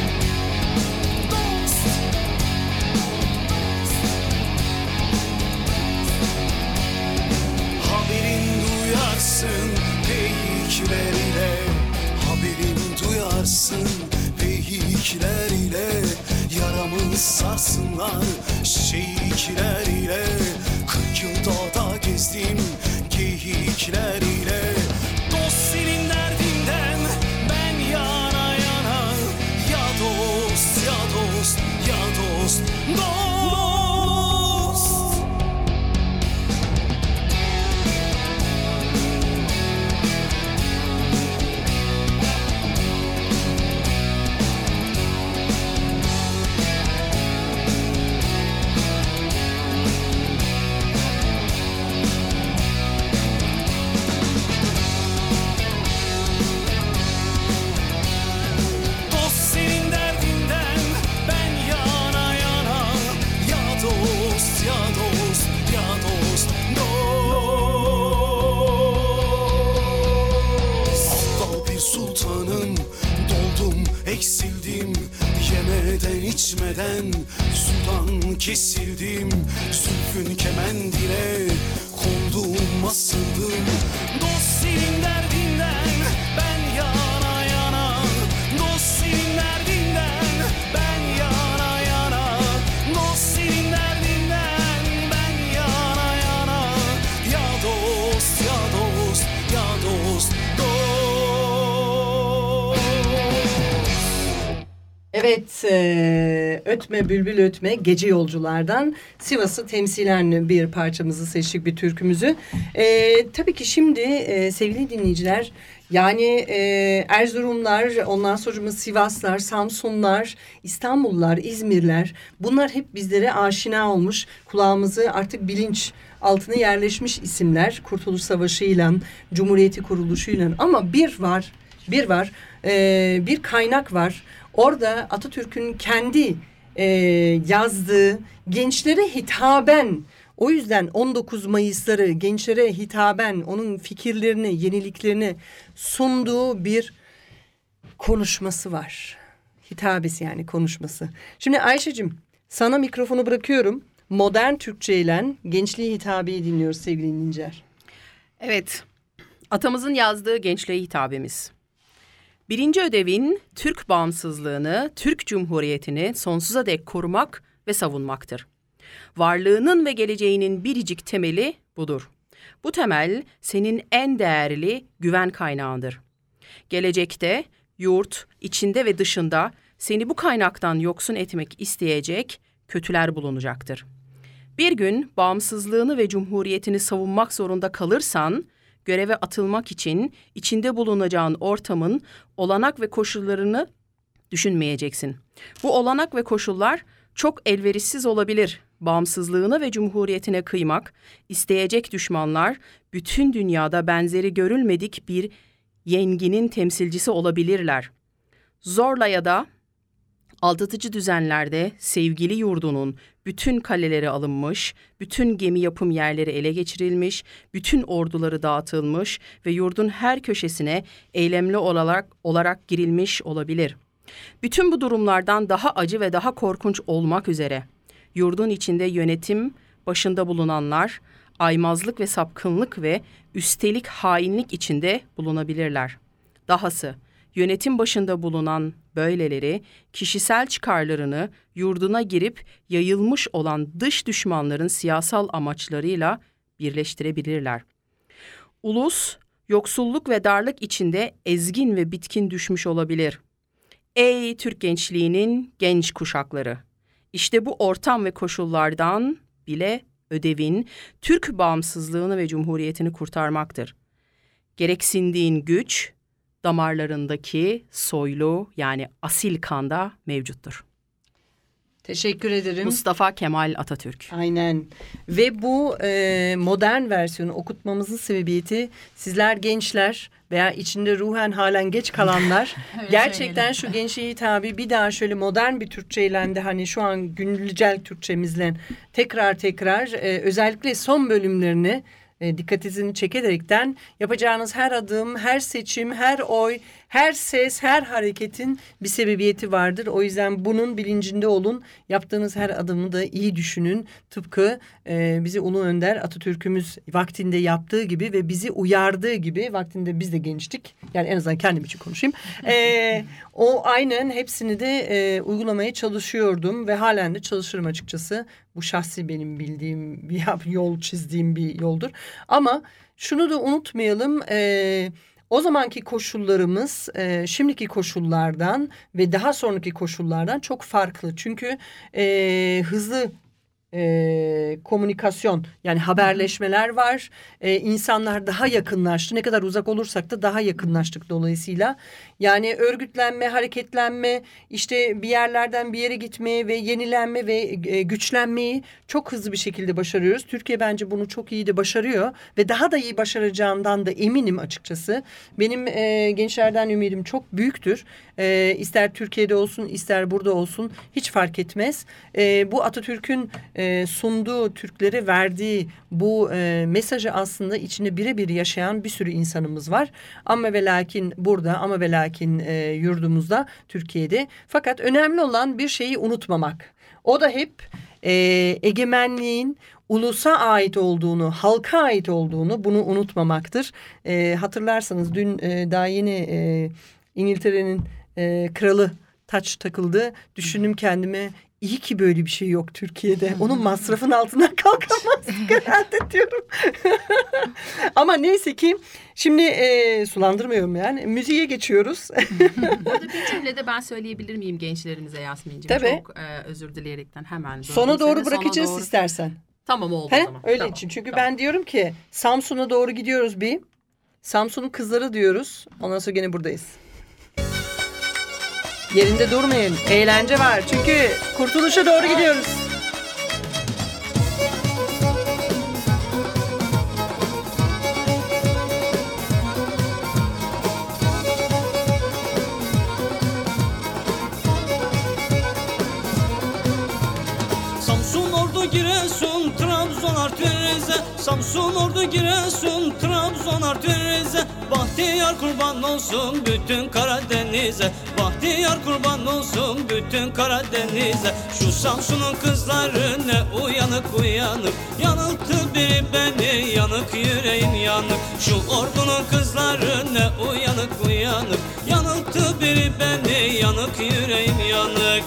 E: Dost. sarsınlar şehikler ile. 40 yıl dağda gezdim geyikler ile. Dost senin derdinden ben yana yana. Ya dost, ya dost, ya dost, dost. Eksildim yemeden içmeden, sudan kesildim, zülfün kemendine kondum asıldım. Dost senin derdinden ben yana yana. Dost senin derdinden ben yana yana. Dost senin derdinden ben yana yana. Ya dost, ya dost, ya dost, dost.
B: Evet, Ötme Bülbül Ötme Gece Yolculardan Sivas'ı temsilen bir parçamızı seçtik, bir türkümüzü. Tabii ki şimdi sevgili dinleyiciler, yani Erzurumlar, ondan sonra Sivaslar, Samsunlar, İstanbullular, İzmirler, bunlar hep bizlere aşina olmuş, kulağımızı artık bilinç altına yerleşmiş isimler. Kurtuluş Savaşı'yla, Cumhuriyeti kuruluşuyla, ama bir kaynak var. Orada Atatürk'ün kendi yazdığı, gençlere hitaben, o yüzden 19 Mayıs'ları gençlere hitaben onun fikirlerini, yeniliklerini sunduğu bir konuşması var. Hitabesi, yani konuşması. Şimdi Ayşe'cim, sana mikrofonu bırakıyorum. Modern Türkçe ile gençliğe hitabeyi dinliyoruz sevgili dinleyiciler.
C: Evet, atamızın yazdığı gençliğe hitabemiz. Birinci ödevin Türk bağımsızlığını, Türk Cumhuriyeti'ni sonsuza dek korumak ve savunmaktır. Varlığının ve geleceğinin biricik temeli budur. Bu temel senin en değerli güven kaynağındır. Gelecekte yurt, içinde ve dışında seni bu kaynaktan yoksun etmek isteyecek kötüler bulunacaktır. Bir gün bağımsızlığını ve cumhuriyetini savunmak zorunda kalırsan, göreve atılmak için içinde bulunacağın ortamın olanak ve koşullarını düşünmeyeceksin. Bu olanak ve koşullar çok elverişsiz olabilir. Bağımsızlığına ve cumhuriyetine kıymak isteyecek düşmanlar bütün dünyada benzeri görülmedik bir yenginin temsilcisi olabilirler. Zorla ya da aldatıcı düzenlerde sevgili yurdunun bütün kaleleri alınmış, bütün gemi yapım yerleri ele geçirilmiş, bütün orduları dağıtılmış ve yurdun her köşesine eylemli olarak girilmiş olabilir. Bütün bu durumlardan daha acı ve daha korkunç olmak üzere yurdun içinde yönetim başında bulunanlar aymazlık ve sapkınlık ve üstelik hainlik içinde bulunabilirler. Dahası yönetim başında bulunan böyleleri kişisel çıkarlarını yurduna girip yayılmış olan dış düşmanların siyasal amaçlarıyla birleştirebilirler. Ulus, yoksulluk ve darlık içinde ezgin ve bitkin düşmüş olabilir. Ey Türk gençliğinin genç kuşakları! İşte bu ortam ve koşullardan bile ödevin Türk bağımsızlığını ve cumhuriyetini kurtarmaktır. Gereksindiğin güç, damarlarındaki soylu, yani asil kanda mevcuttur.
B: Teşekkür ederim.
C: Mustafa Kemal Atatürk.
B: Aynen. Ve bu modern versiyonu okutmamızın sebebiyeti, sizler gençler veya içinde ruhen halen geç kalanlar gerçekten şu gençliğe hitabı bir daha şöyle modern bir Türkçeyle de, hani şu an güncel Türkçemizle tekrar özellikle son bölümlerini dikkatinizi çekerekten yapacağınız her adım, her seçim, her oy, Her ses, her hareketin bir sebebiyeti vardır. O yüzden bunun bilincinde olun. Yaptığınız her adımı da iyi düşünün. Tıpkı bizi Ulu Önder Atatürk'ümüz vaktinde yaptığı gibi ve bizi uyardığı gibi, vaktinde biz de gençtik. Yani en azından kendim için konuşayım. O aynen hepsini de uygulamaya çalışıyordum ve halen de çalışırım açıkçası. Bu şahsi benim bildiğim bir yol, çizdiğim bir yoldur. Ama şunu da unutmayalım. O zamanki koşullarımız şimdiki koşullardan ve daha sonraki koşullardan çok farklı. Çünkü hızlı komünikasyon, yani haberleşmeler var. İnsanlar daha yakınlaştı. Ne kadar uzak olursak da daha yakınlaştık dolayısıyla. Yani örgütlenme, hareketlenme, işte bir yerlerden bir yere gitmeyi ve yenilenme ve güçlenmeyi çok hızlı bir şekilde başarıyoruz. Türkiye bence bunu çok iyi de başarıyor ve daha da iyi başaracağından da eminim açıkçası. Benim gençlerden ümidim çok büyüktür. İster Türkiye'de olsun, ister burada olsun, hiç fark etmez. Bu Atatürk'ün sunduğu, Türklere verdiği bu mesajı aslında içinde birebir yaşayan bir sürü insanımız var. Ama ve lakin burada, ama ve lakin yurdumuzda, Türkiye'de. Fakat önemli olan bir şeyi unutmamak. O da hep egemenliğin ulusa ait olduğunu, halka ait olduğunu, bunu unutmamaktır. Hatırlarsanız dün daha yeni İngiltere'nin kralı taç takıldı. Düşündüm kendime, iyi ki böyle bir şey yok Türkiye'de. Onun masrafın altından kalkamazdık herhalde diyorum. Ama neyse ki şimdi sulandırmıyorum yani. Müziğe geçiyoruz.
C: Burada bir cümlede ben söyleyebilir miyim gençlerimize Yasmin'ciğim?
B: Tabii.
C: Çok özür dileyerekten hemen.
B: Sona doğru bırakacağız
C: Sona doğru.
B: istersen.
C: Tamam oldu o zaman.
B: Öyle
C: Tamam,
B: için. Çünkü
C: tamam.
B: ben diyorum ki Samsun'a doğru gidiyoruz bir. Samsun'un kızları diyoruz. Ondan sonra gene buradayız. Yerinde durmayın. Eğlence var. Çünkü kurtuluşa doğru gidiyoruz.
E: Samsun, Ordu, Giresun, Trabzon, Artvin, Rize. Samsun, Ordu, Giresun, Trabzon, Artvin, Rize. Bahtiyar kurban olsun bütün Karadeniz'e. Bahtiyar kurban olsun bütün Karadeniz'e. Şu Samsun'un kızları ne uyanık uyanık. Yanılttı biri beni, yanık yüreğim yanık. Şu Ordu'nun kızları ne uyanık uyanık. Yanılttı biri beni, yanık yüreğim yanık.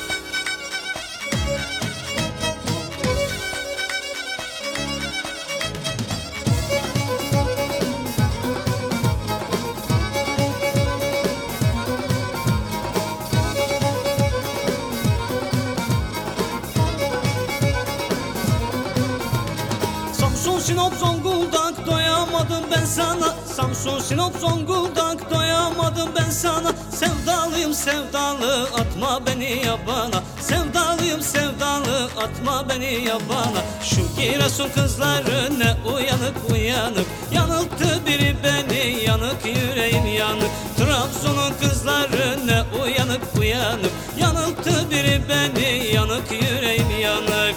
E: Samsun, Sinop, Zonguldak doyamadım ben sana. Samsun, Sinop, Zonguldak doyamadım ben sana. Sevdalıyım sevdalı, atma beni yabana. Sevdalıyım sevdalı, atma beni yabana. Şu Giresun kızları ne uyanık uyanık. Yanılttı biri beni, yanık yüreğim yanık. Trabzon'un kızları ne uyanık uyanık. Yanılttı biri beni, yanık yüreğim yanık.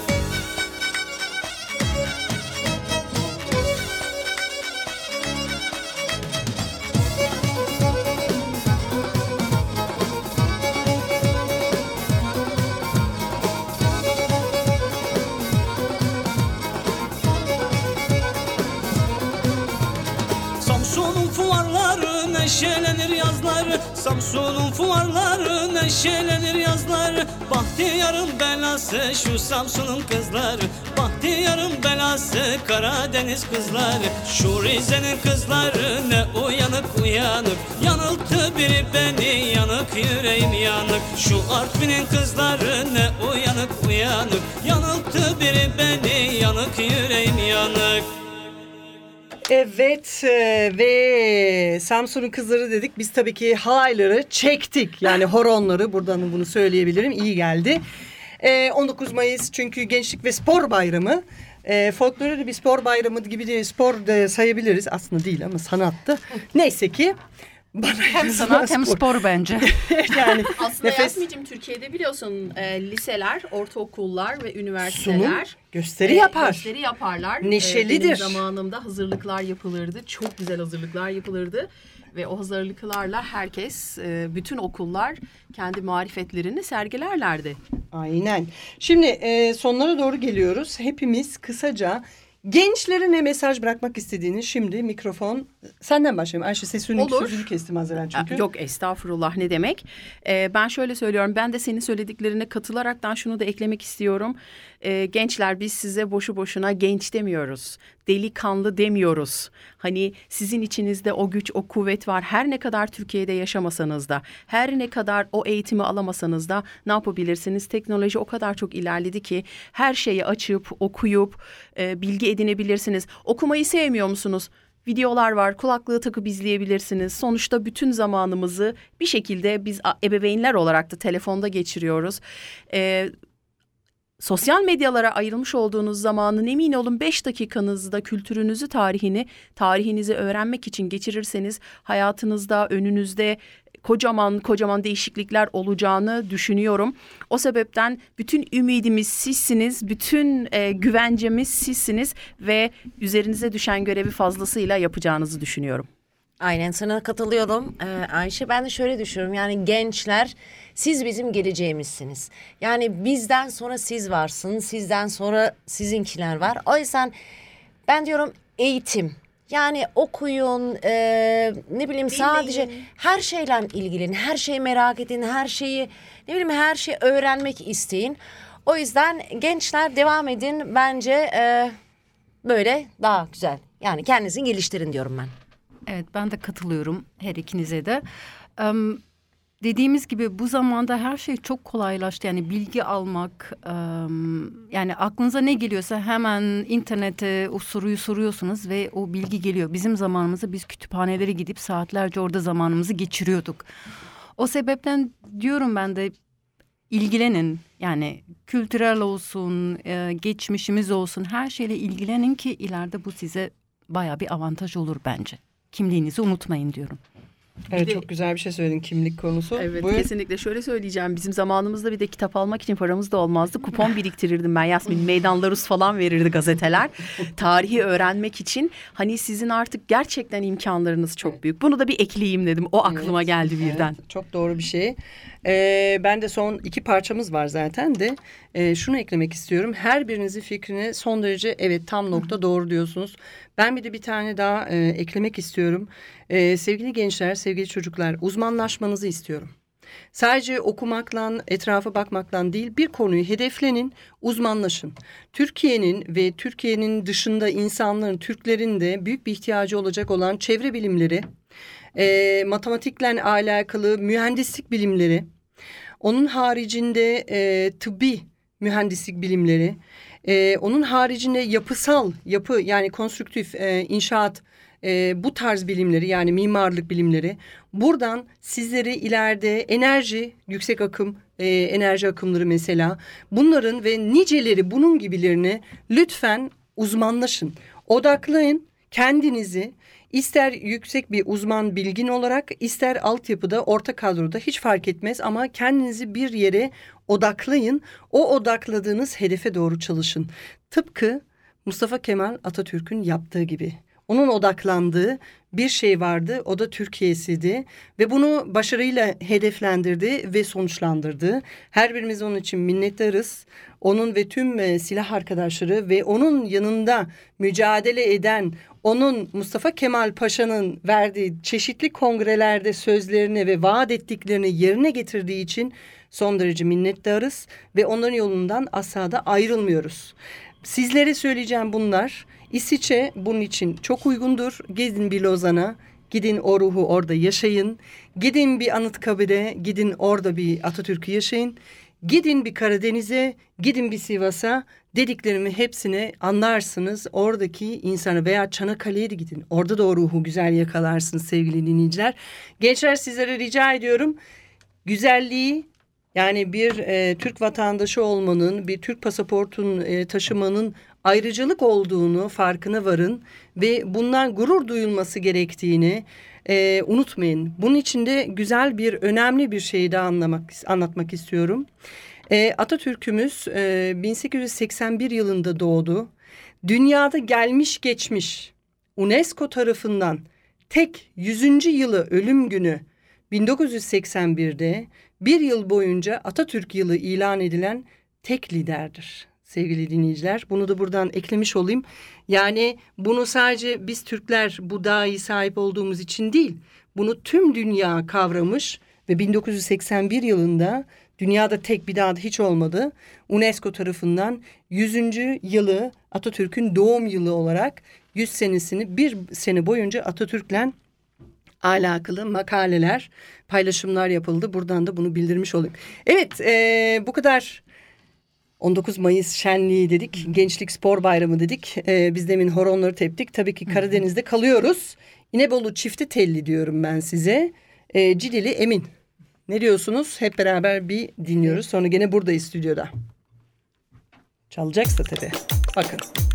E: Samsun'un fuarları neşelenir yazları. Samsun'un fuarları neşelenir yazları. Bahtiyarın belası şu Samsun'un kızları. Bahtiyarın belası Karadeniz kızları. Şu Rize'nin kızları ne uyanık uyanık. Yanılttı biri beni, yanık yüreğim yanık. Şu Artvin'in kızları ne uyanık uyanık. Yanılttı biri beni, yanık yüreğim yanık.
B: Evet ve Samsun'un kızları dedik. Biz tabii ki halayları çektik. Yani horonları, buradan bunu söyleyebilirim. İyi geldi. 19 Mayıs çünkü Gençlik ve Spor Bayramı. Folklor'u da bir spor bayramı gibi de spor da sayabiliriz. Aslında değil ama sanattı. Neyse ki
F: Hem sanat hem spor bence.
B: Yani
C: Aslında
B: nefes
C: Yasmin'cim Türkiye'de biliyorsun liseler, ortaokullar ve üniversiteler
B: sunum gösteri yapar.
C: Gösteri yaparlar.
B: Neşelidir.
C: Benim zamanımda hazırlıklar yapılırdı. Çok güzel hazırlıklar yapılırdı. Ve o hazırlıklarla herkes, bütün okullar kendi marifetlerini sergilerlerdi.
B: Aynen. Şimdi sonlara doğru geliyoruz. Hepimiz kısaca gençlere ne mesaj bırakmak istediğini şimdi mikrofon senden başlayalım. Ayşe sözünü kestim az evvel çünkü.
C: Yok estağfurullah ne demek. Ben şöyle söylüyorum, ben de senin söylediklerine katılaraktan şunu da eklemek istiyorum. Gençler biz size boşu boşuna genç demiyoruz. Delikanlı demiyoruz. Hani sizin içinizde o güç, o kuvvet var. Her ne kadar Türkiye'de yaşamasanız da, her ne kadar o eğitimi alamasanız da ne yapabilirsiniz? Teknoloji o kadar çok ilerledi ki her şeyi açıp, okuyup bilgi edinebilirsiniz. Okumayı sevmiyor musunuz? Videolar var, kulaklığı takıp izleyebilirsiniz. Sonuçta bütün zamanımızı bir şekilde biz ebeveynler olarak da telefonda geçiriyoruz. Sosyal medyalara ayrılmış olduğunuz zamanın emin olun 5 dakikanızda kültürünüzü, tarihinizi öğrenmek için geçirirseniz hayatınızda, önünüzde kocaman değişiklikler olacağını düşünüyorum. O sebepten bütün ümidimiz sizsiniz, bütün güvencemiz sizsiniz ve üzerinize düşen görevi fazlasıyla yapacağınızı düşünüyorum.
D: Aynen sana katılıyorum Ayşe. Ben de şöyle düşünüyorum, yani gençler siz bizim geleceğimizsiniz. Yani bizden sonra siz varsınız, sizden sonra sizinkiler var. O yüzden ben diyorum eğitim. Yani okuyun, ne bileyim sadece her şeyle ilgilenin, her şeyi merak edin, her şeyi her şeyi öğrenmek isteyin. O yüzden gençler devam edin bence böyle daha güzel. Yani kendinizi geliştirin diyorum ben.
F: Evet, ben de katılıyorum her ikinize de. Dediğimiz gibi bu zamanda her şey çok kolaylaştı. Yani bilgi almak, yani aklınıza ne geliyorsa hemen internete o soruyu soruyorsunuz ve o bilgi geliyor. Bizim zamanımızda biz kütüphanelere gidip saatlerce orada zamanımızı geçiriyorduk. O sebepten diyorum ben de ilgilenin. Yani kültürel olsun, geçmişimiz olsun, her şeyle ilgilenin ki ileride bu size bayağı bir avantaj olur bence. Kimliğinizi unutmayın diyorum.
B: Evet, çok güzel bir şey söyledin, kimlik konusu.
C: Evet,
B: Buyur.
C: kesinlikle şöyle söyleyeceğim. Bizim zamanımızda bir de kitap almak için paramız da olmazdı. Kupon biriktirirdim ben Yasmin. Meydanlarus falan verirdi gazeteler. Tarihi öğrenmek için. Hani sizin artık gerçekten imkanlarınız çok büyük. Bunu da bir ekleyeyim dedim. O aklıma geldi birden.
B: Evet, çok doğru bir şey. Ben de son 2 parçamız var zaten de şunu eklemek istiyorum. Her birinizin fikrine son derece evet tam nokta doğru diyorsunuz. Ben bir tane daha eklemek istiyorum. Sevgili gençler, sevgili çocuklar, uzmanlaşmanızı istiyorum. Sadece okumakla, etrafa bakmakla değil, bir konuyu hedeflenin, uzmanlaşın. Türkiye'nin ve Türkiye'nin dışında insanların, Türklerin de büyük bir ihtiyacı olacak olan çevre bilimleri, matematikle alakalı mühendislik bilimleri, onun haricinde tıbbi mühendislik bilimleri, onun haricinde yapı yani konstrüktif inşaat, bu tarz bilimleri yani mimarlık bilimleri. Buradan sizleri ileride enerji, yüksek akım, enerji akımları mesela bunların ve niceleri bunun gibilerini lütfen uzmanlaşın. Odaklayın kendinizi. İster yüksek bir uzman bilgin olarak, ister altyapıda, orta kadroda hiç fark etmez ama kendinizi bir yere odaklayın. O odakladığınız hedefe doğru çalışın. Tıpkı Mustafa Kemal Atatürk'ün yaptığı gibi. Onun odaklandığı bir şey vardı, o da Türkiye'siydi ve bunu başarıyla hedeflendirdi ve sonuçlandırdı. Her birimiz onun için minnettarız. Onun ve tüm silah arkadaşları ve onun yanında mücadele eden, onun Mustafa Kemal Paşa'nın verdiği çeşitli kongrelerde sözlerini ve vaat ettiklerini yerine getirdiği için son derece minnettarız ve onların yolundan asla da ayrılmıyoruz. Sizlere söyleyeceğim bunlar. İsviçre bunun için çok uygundur. Gidin bir Lozan'a, gidin o ruhu orada yaşayın. Gidin bir Anıtkabir'e, gidin orada bir Atatürk'ü yaşayın. Gidin bir Karadeniz'e, gidin bir Sivas'a, dediklerimi hepsini anlarsınız. Oradaki insanı veya Çanakkale'ye de gidin. Orada da o ruhu güzel yakalarsınız sevgili dinleyiciler. Gençler, sizlere rica ediyorum. Güzelliği, yani bir Türk vatandaşı olmanın, bir Türk pasaportun taşımanın ayrıcalık olduğunu farkına varın ve bundan gurur duyulması gerektiğini, unutmayın. Bunun içinde güzel bir, önemli bir şeyi daha anlatmak istiyorum. Atatürk'ümüz 1881 yılında doğdu. Dünyada gelmiş geçmiş UNESCO tarafından tek 100. yılı ölüm günü 1981'de bir yıl boyunca Atatürk yılı ilan edilen tek liderdir sevgili dinleyiciler. Bunu da buradan eklemiş olayım. Yani bunu sadece biz Türkler bu dahi sahip olduğumuz için değil, bunu tüm dünya kavramış ve 1981 yılında dünyada tek, bir daha da hiç olmadı, UNESCO tarafından 100. yılı Atatürk'ün doğum yılı olarak 100 senesini bir sene boyunca Atatürk'le alakalı makaleler, paylaşımlar yapıldı. Buradan da bunu bildirmiş olduk. Evet, bu kadar 19 Mayıs şenliği dedik. Gençlik Spor Bayramı dedik. Biz demin horonları teptik. Tabii ki Karadeniz'de kalıyoruz. İnebolu Çifte Telli diyorum ben size. Cidili Emin. Ne diyorsunuz? Hep beraber bir dinliyoruz. Sonra gene buradayız stüdyoda. Çalacaksa tabii. Bakın.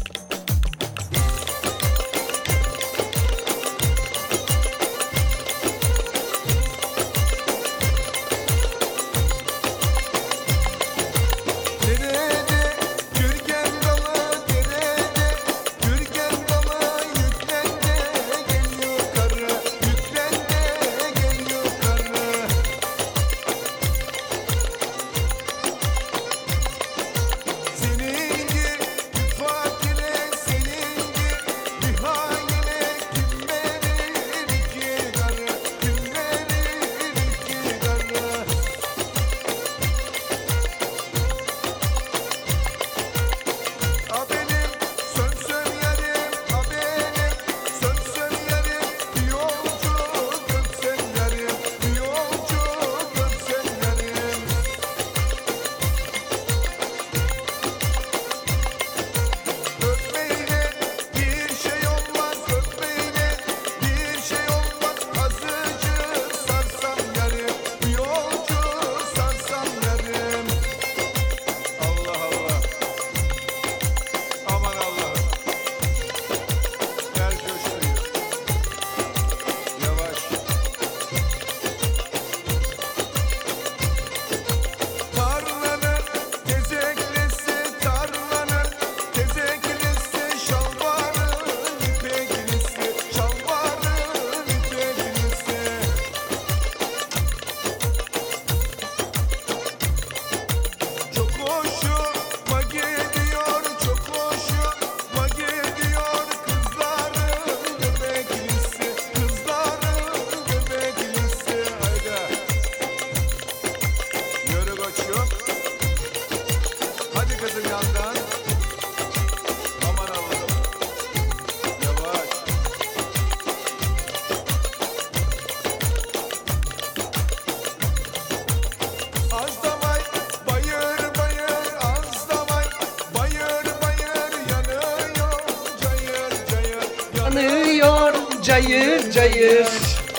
B: Cayır cayır.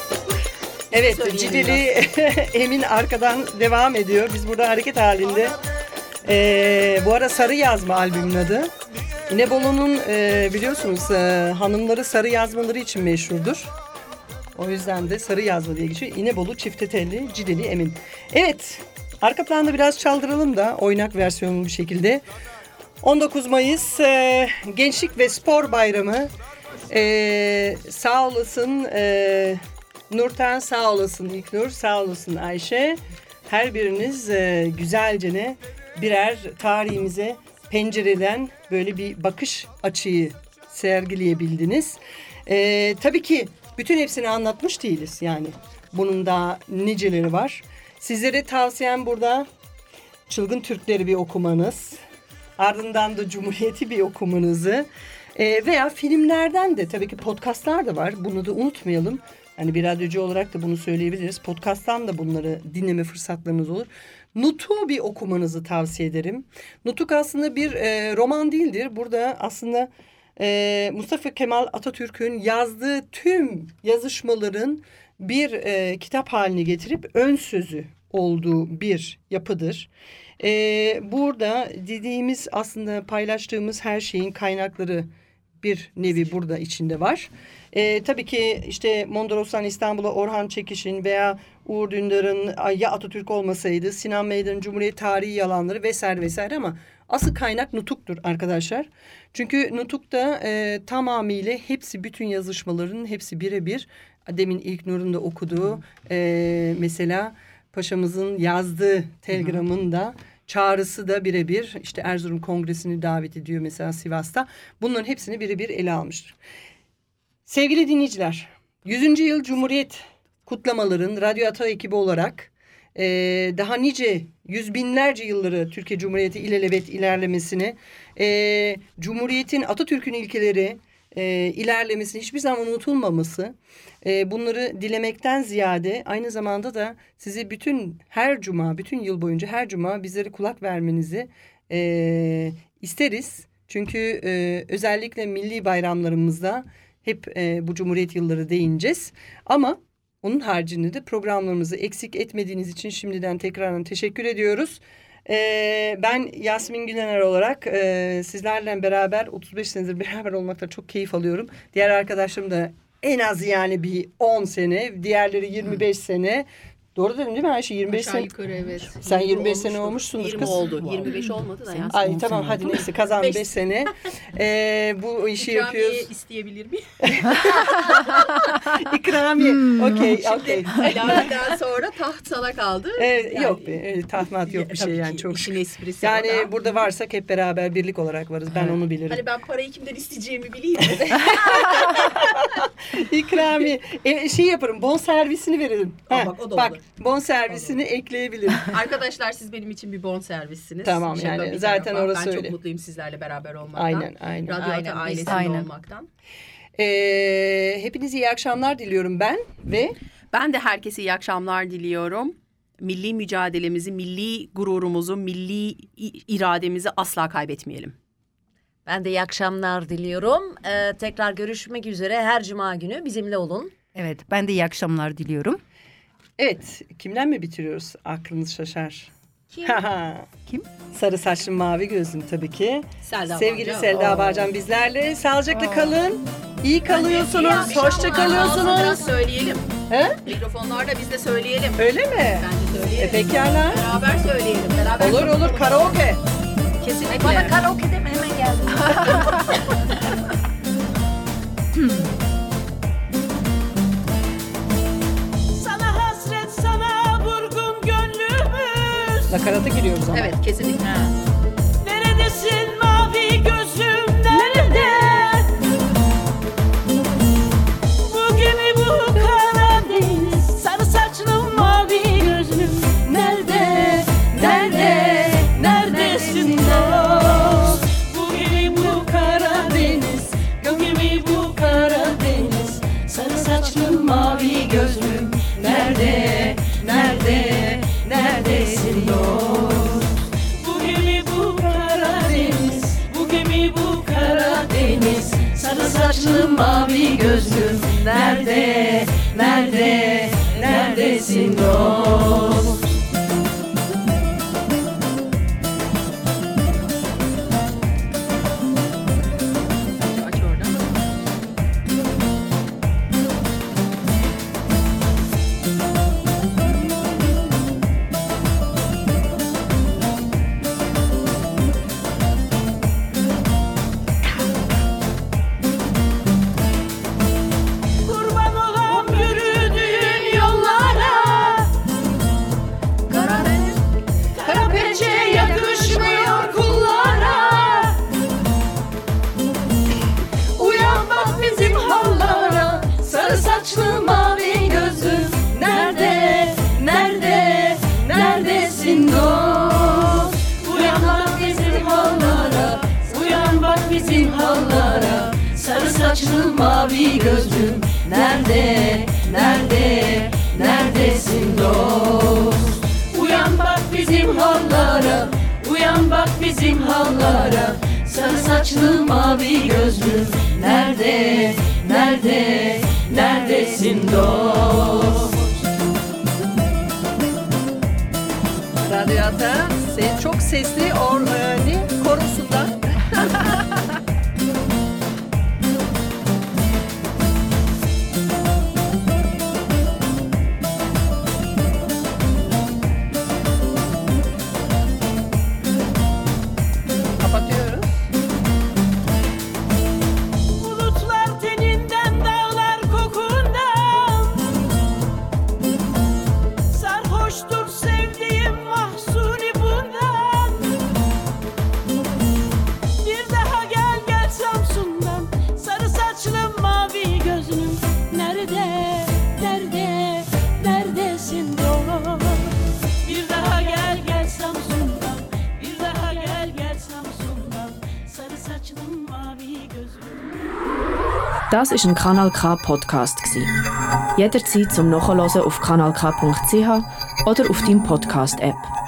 B: Evet, Cidili Emin arkadan devam ediyor. Biz burada hareket halinde. Bu ara Sarı Yazma albümün adı. İnebolu'nun biliyorsunuz hanımları sarı yazmaları için meşhurdur. O yüzden de Sarı Yazma diye geçiyor. İnebolu Çifte Telli Cidili Emin. Evet, arka planda biraz çaldıralım da oynak versiyonlu bir şekilde. 19 Mayıs Gençlik ve Spor Bayramı. Sağ olasın Nurten, sağ olasın İlknur, sağ olasın Ayşe. Her biriniz güzelce birer tarihimize pencereden böyle bir bakış açıyı sergileyebildiniz. Tabii ki bütün hepsini anlatmış değiliz yani. Bunun daha niceleri var. Sizlere tavsiyem burada Çılgın Türkleri bir okumanız. Ardından da Cumhuriyeti bir okumanızı. Veya filmlerden de tabii ki podcastlar da var. Bunu da unutmayalım. Yani bir radyocu olarak da bunu söyleyebiliriz. Podcast'tan da bunları dinleme fırsatlarınız olur. Nutuk'u bir okumanızı tavsiye ederim. Nutuk aslında bir roman değildir. Burada aslında Mustafa Kemal Atatürk'ün yazdığı tüm yazışmaların bir kitap haline getirip ön sözü olduğu bir yapıdır. Burada dediğimiz aslında paylaştığımız her şeyin kaynakları bir nevi burada içinde var. Tabii ki işte Mondros'tan İstanbul'a Orhan Çekiş'in veya Uğur Dündar'ın ya Atatürk olmasaydı, Sinan Meydan'ın Cumhuriyet tarihi yalanları vesaire vesaire ama asıl kaynak Nutuk'tur arkadaşlar. Çünkü Nutuk'ta tamamıyla hepsi, bütün yazışmaların hepsi birebir. Demin İlknur'un da okuduğu mesela Paşa'mızın yazdığı telgramın da çağrısı da birebir. İşte Erzurum Kongresi'ni davet ediyor mesela Sivas'ta. Bunların hepsini birebir ele almıştır. Sevgili dinleyiciler, 100. yıl Cumhuriyet kutlamaların Radyo Ata ekibi olarak daha nice yüz binlerce yılları Türkiye Cumhuriyeti ilelebet ilerlemesini, Cumhuriyet'in, Atatürk'ün ilkeleri ilerlemesini, hiçbir zaman unutulmaması, bunları dilemekten ziyade aynı zamanda da sizi her cuma, bütün yıl boyunca her cuma bizlere kulak vermenizi isteriz. Çünkü özellikle milli bayramlarımızda hep bu Cumhuriyet yılları değineceğiz. Ama onun haricinde de programlarımızı eksik etmediğiniz için şimdiden tekrardan teşekkür ediyoruz. Ben Yasmin Gülener olarak sizlerle beraber 35 senedir beraber olmaktan çok keyif alıyorum. Diğer arkadaşlarım da en az yani bir 10 sene, diğerleri 25 sene. Doğru dedim değil mi Ayşe? 25
C: Aşağı
B: sene.
C: yukarı evet.
B: Sen 25
C: olmuştur.
B: sene olmuşsundur
C: 20
B: kız.
C: oldu. 25 olmadı da ya.
B: Ay tamam hadi neyse kazan 5 sene. Bu işi
C: İkramiye
B: yapıyoruz.
C: isteyebilir miyim?
B: İkramiye. Okey.
C: İlaveden sonra taht sana kaldı. Yani,
B: Yok be tahmat yok bir şey
C: tabii
B: yani
C: ki
B: çok.
C: işin esprisi
B: Yani
C: o da.
B: burada varsak hep beraber birlik olarak varız. Ben onu bilirim.
C: Hani ben parayı kimden isteyeceğimi bileyim.
B: İkramiye. Şey yaparım. Bon servisini veririm.
C: Bak, o da
B: bak
C: olur.
B: bon servisini ekleyebilirim.
C: Arkadaşlar siz benim için bir bon servissiniz.
B: Tamam,
C: Şaka
B: yani
C: bir
B: zaten
C: tarafa.
B: orası
C: Ben
B: öyle.
C: çok mutluyum sizlerle beraber olmaktan.
B: Aynen.
C: Radyo
D: Aynen,
C: Ata ailesinde
F: aynen.
C: olmaktan.
B: Hepinize iyi akşamlar diliyorum ben ve
C: Ben de herkese iyi akşamlar diliyorum. Milli mücadelemizi, milli gururumuzu, milli irademizi asla kaybetmeyelim.
D: Ben de iyi akşamlar diliyorum. Tekrar görüşmek üzere. Her cuma günü bizimle olun.
F: Evet, ben de iyi akşamlar diliyorum.
B: evet kimden mi bitiriyoruz? Aklınız şaşar.
D: Kim?
F: Kim?
B: Sarı saçlı mavi gözlüm tabii ki.
C: Selda
B: Sevgili
C: Bağcan.
B: Selda Bağcan bizlerle. Sağlıcakla kalın. İyi kalıyorsunuz.
C: İyi
B: Hoşça
C: akşamlar. Biraz
B: kalıyorsunuz.
C: söyleyelim.
B: He?
C: Mikrofonlarda biz de söyleyelim.
B: Öyle mi?
C: Bence söyleyelim.
B: Pekala.
C: Beraber söyleyelim. Beraber
B: Olur karaoke.
C: Kesinlikle.
D: Bana karaoke deme, hemen geldim.
E: Sana hasret, sana vurgun gönlümüz.
B: Nakarata giriyoruz ama.
C: Evet kesinlikle.
E: Neredesin mavi gözüm, nerede? Bu gemi, bu Karadeniz, sarı saçlı mavi gözlüm, nerede? Nerede? Neredesin dost? Bu gemi, bu Karadeniz, bu gemi, bu Karadeniz, sarı saçlı mavi gözlüm, nerede? Nerede? Neredesin dost? Bu gemi, bu Karadeniz, bu gemi, bu Karadeniz, sarı saçlı mavi gözlüm, nerede? Nerede? Neredesin dost?
C: Aç oradan.
E: Kurban olam yürüdüğün yollara, kara pençe yakışmıyor kullara. Uyan bak bizim hallara, sarı saçlı mavi gözlüm, nerede? Nerede? Neredesin dost? Uyan bak bizim hallara, uyan bak bizim hallara, sarı saçlı mavi gözlüm, nerede? Nerede? Neredesin dost? Uyan bak bizim hallara, uyan bak bizim hallara, sarı saçlı mavi gözlüm, nerede? Nerede? Neredesin dost?
B: Radyo Ata çok sesli korosunda.
A: Das ist ein Kanal K Podcast gsi. Jederzeit zum Nachhören auf kanalk.ch oder auf deinem Podcast App.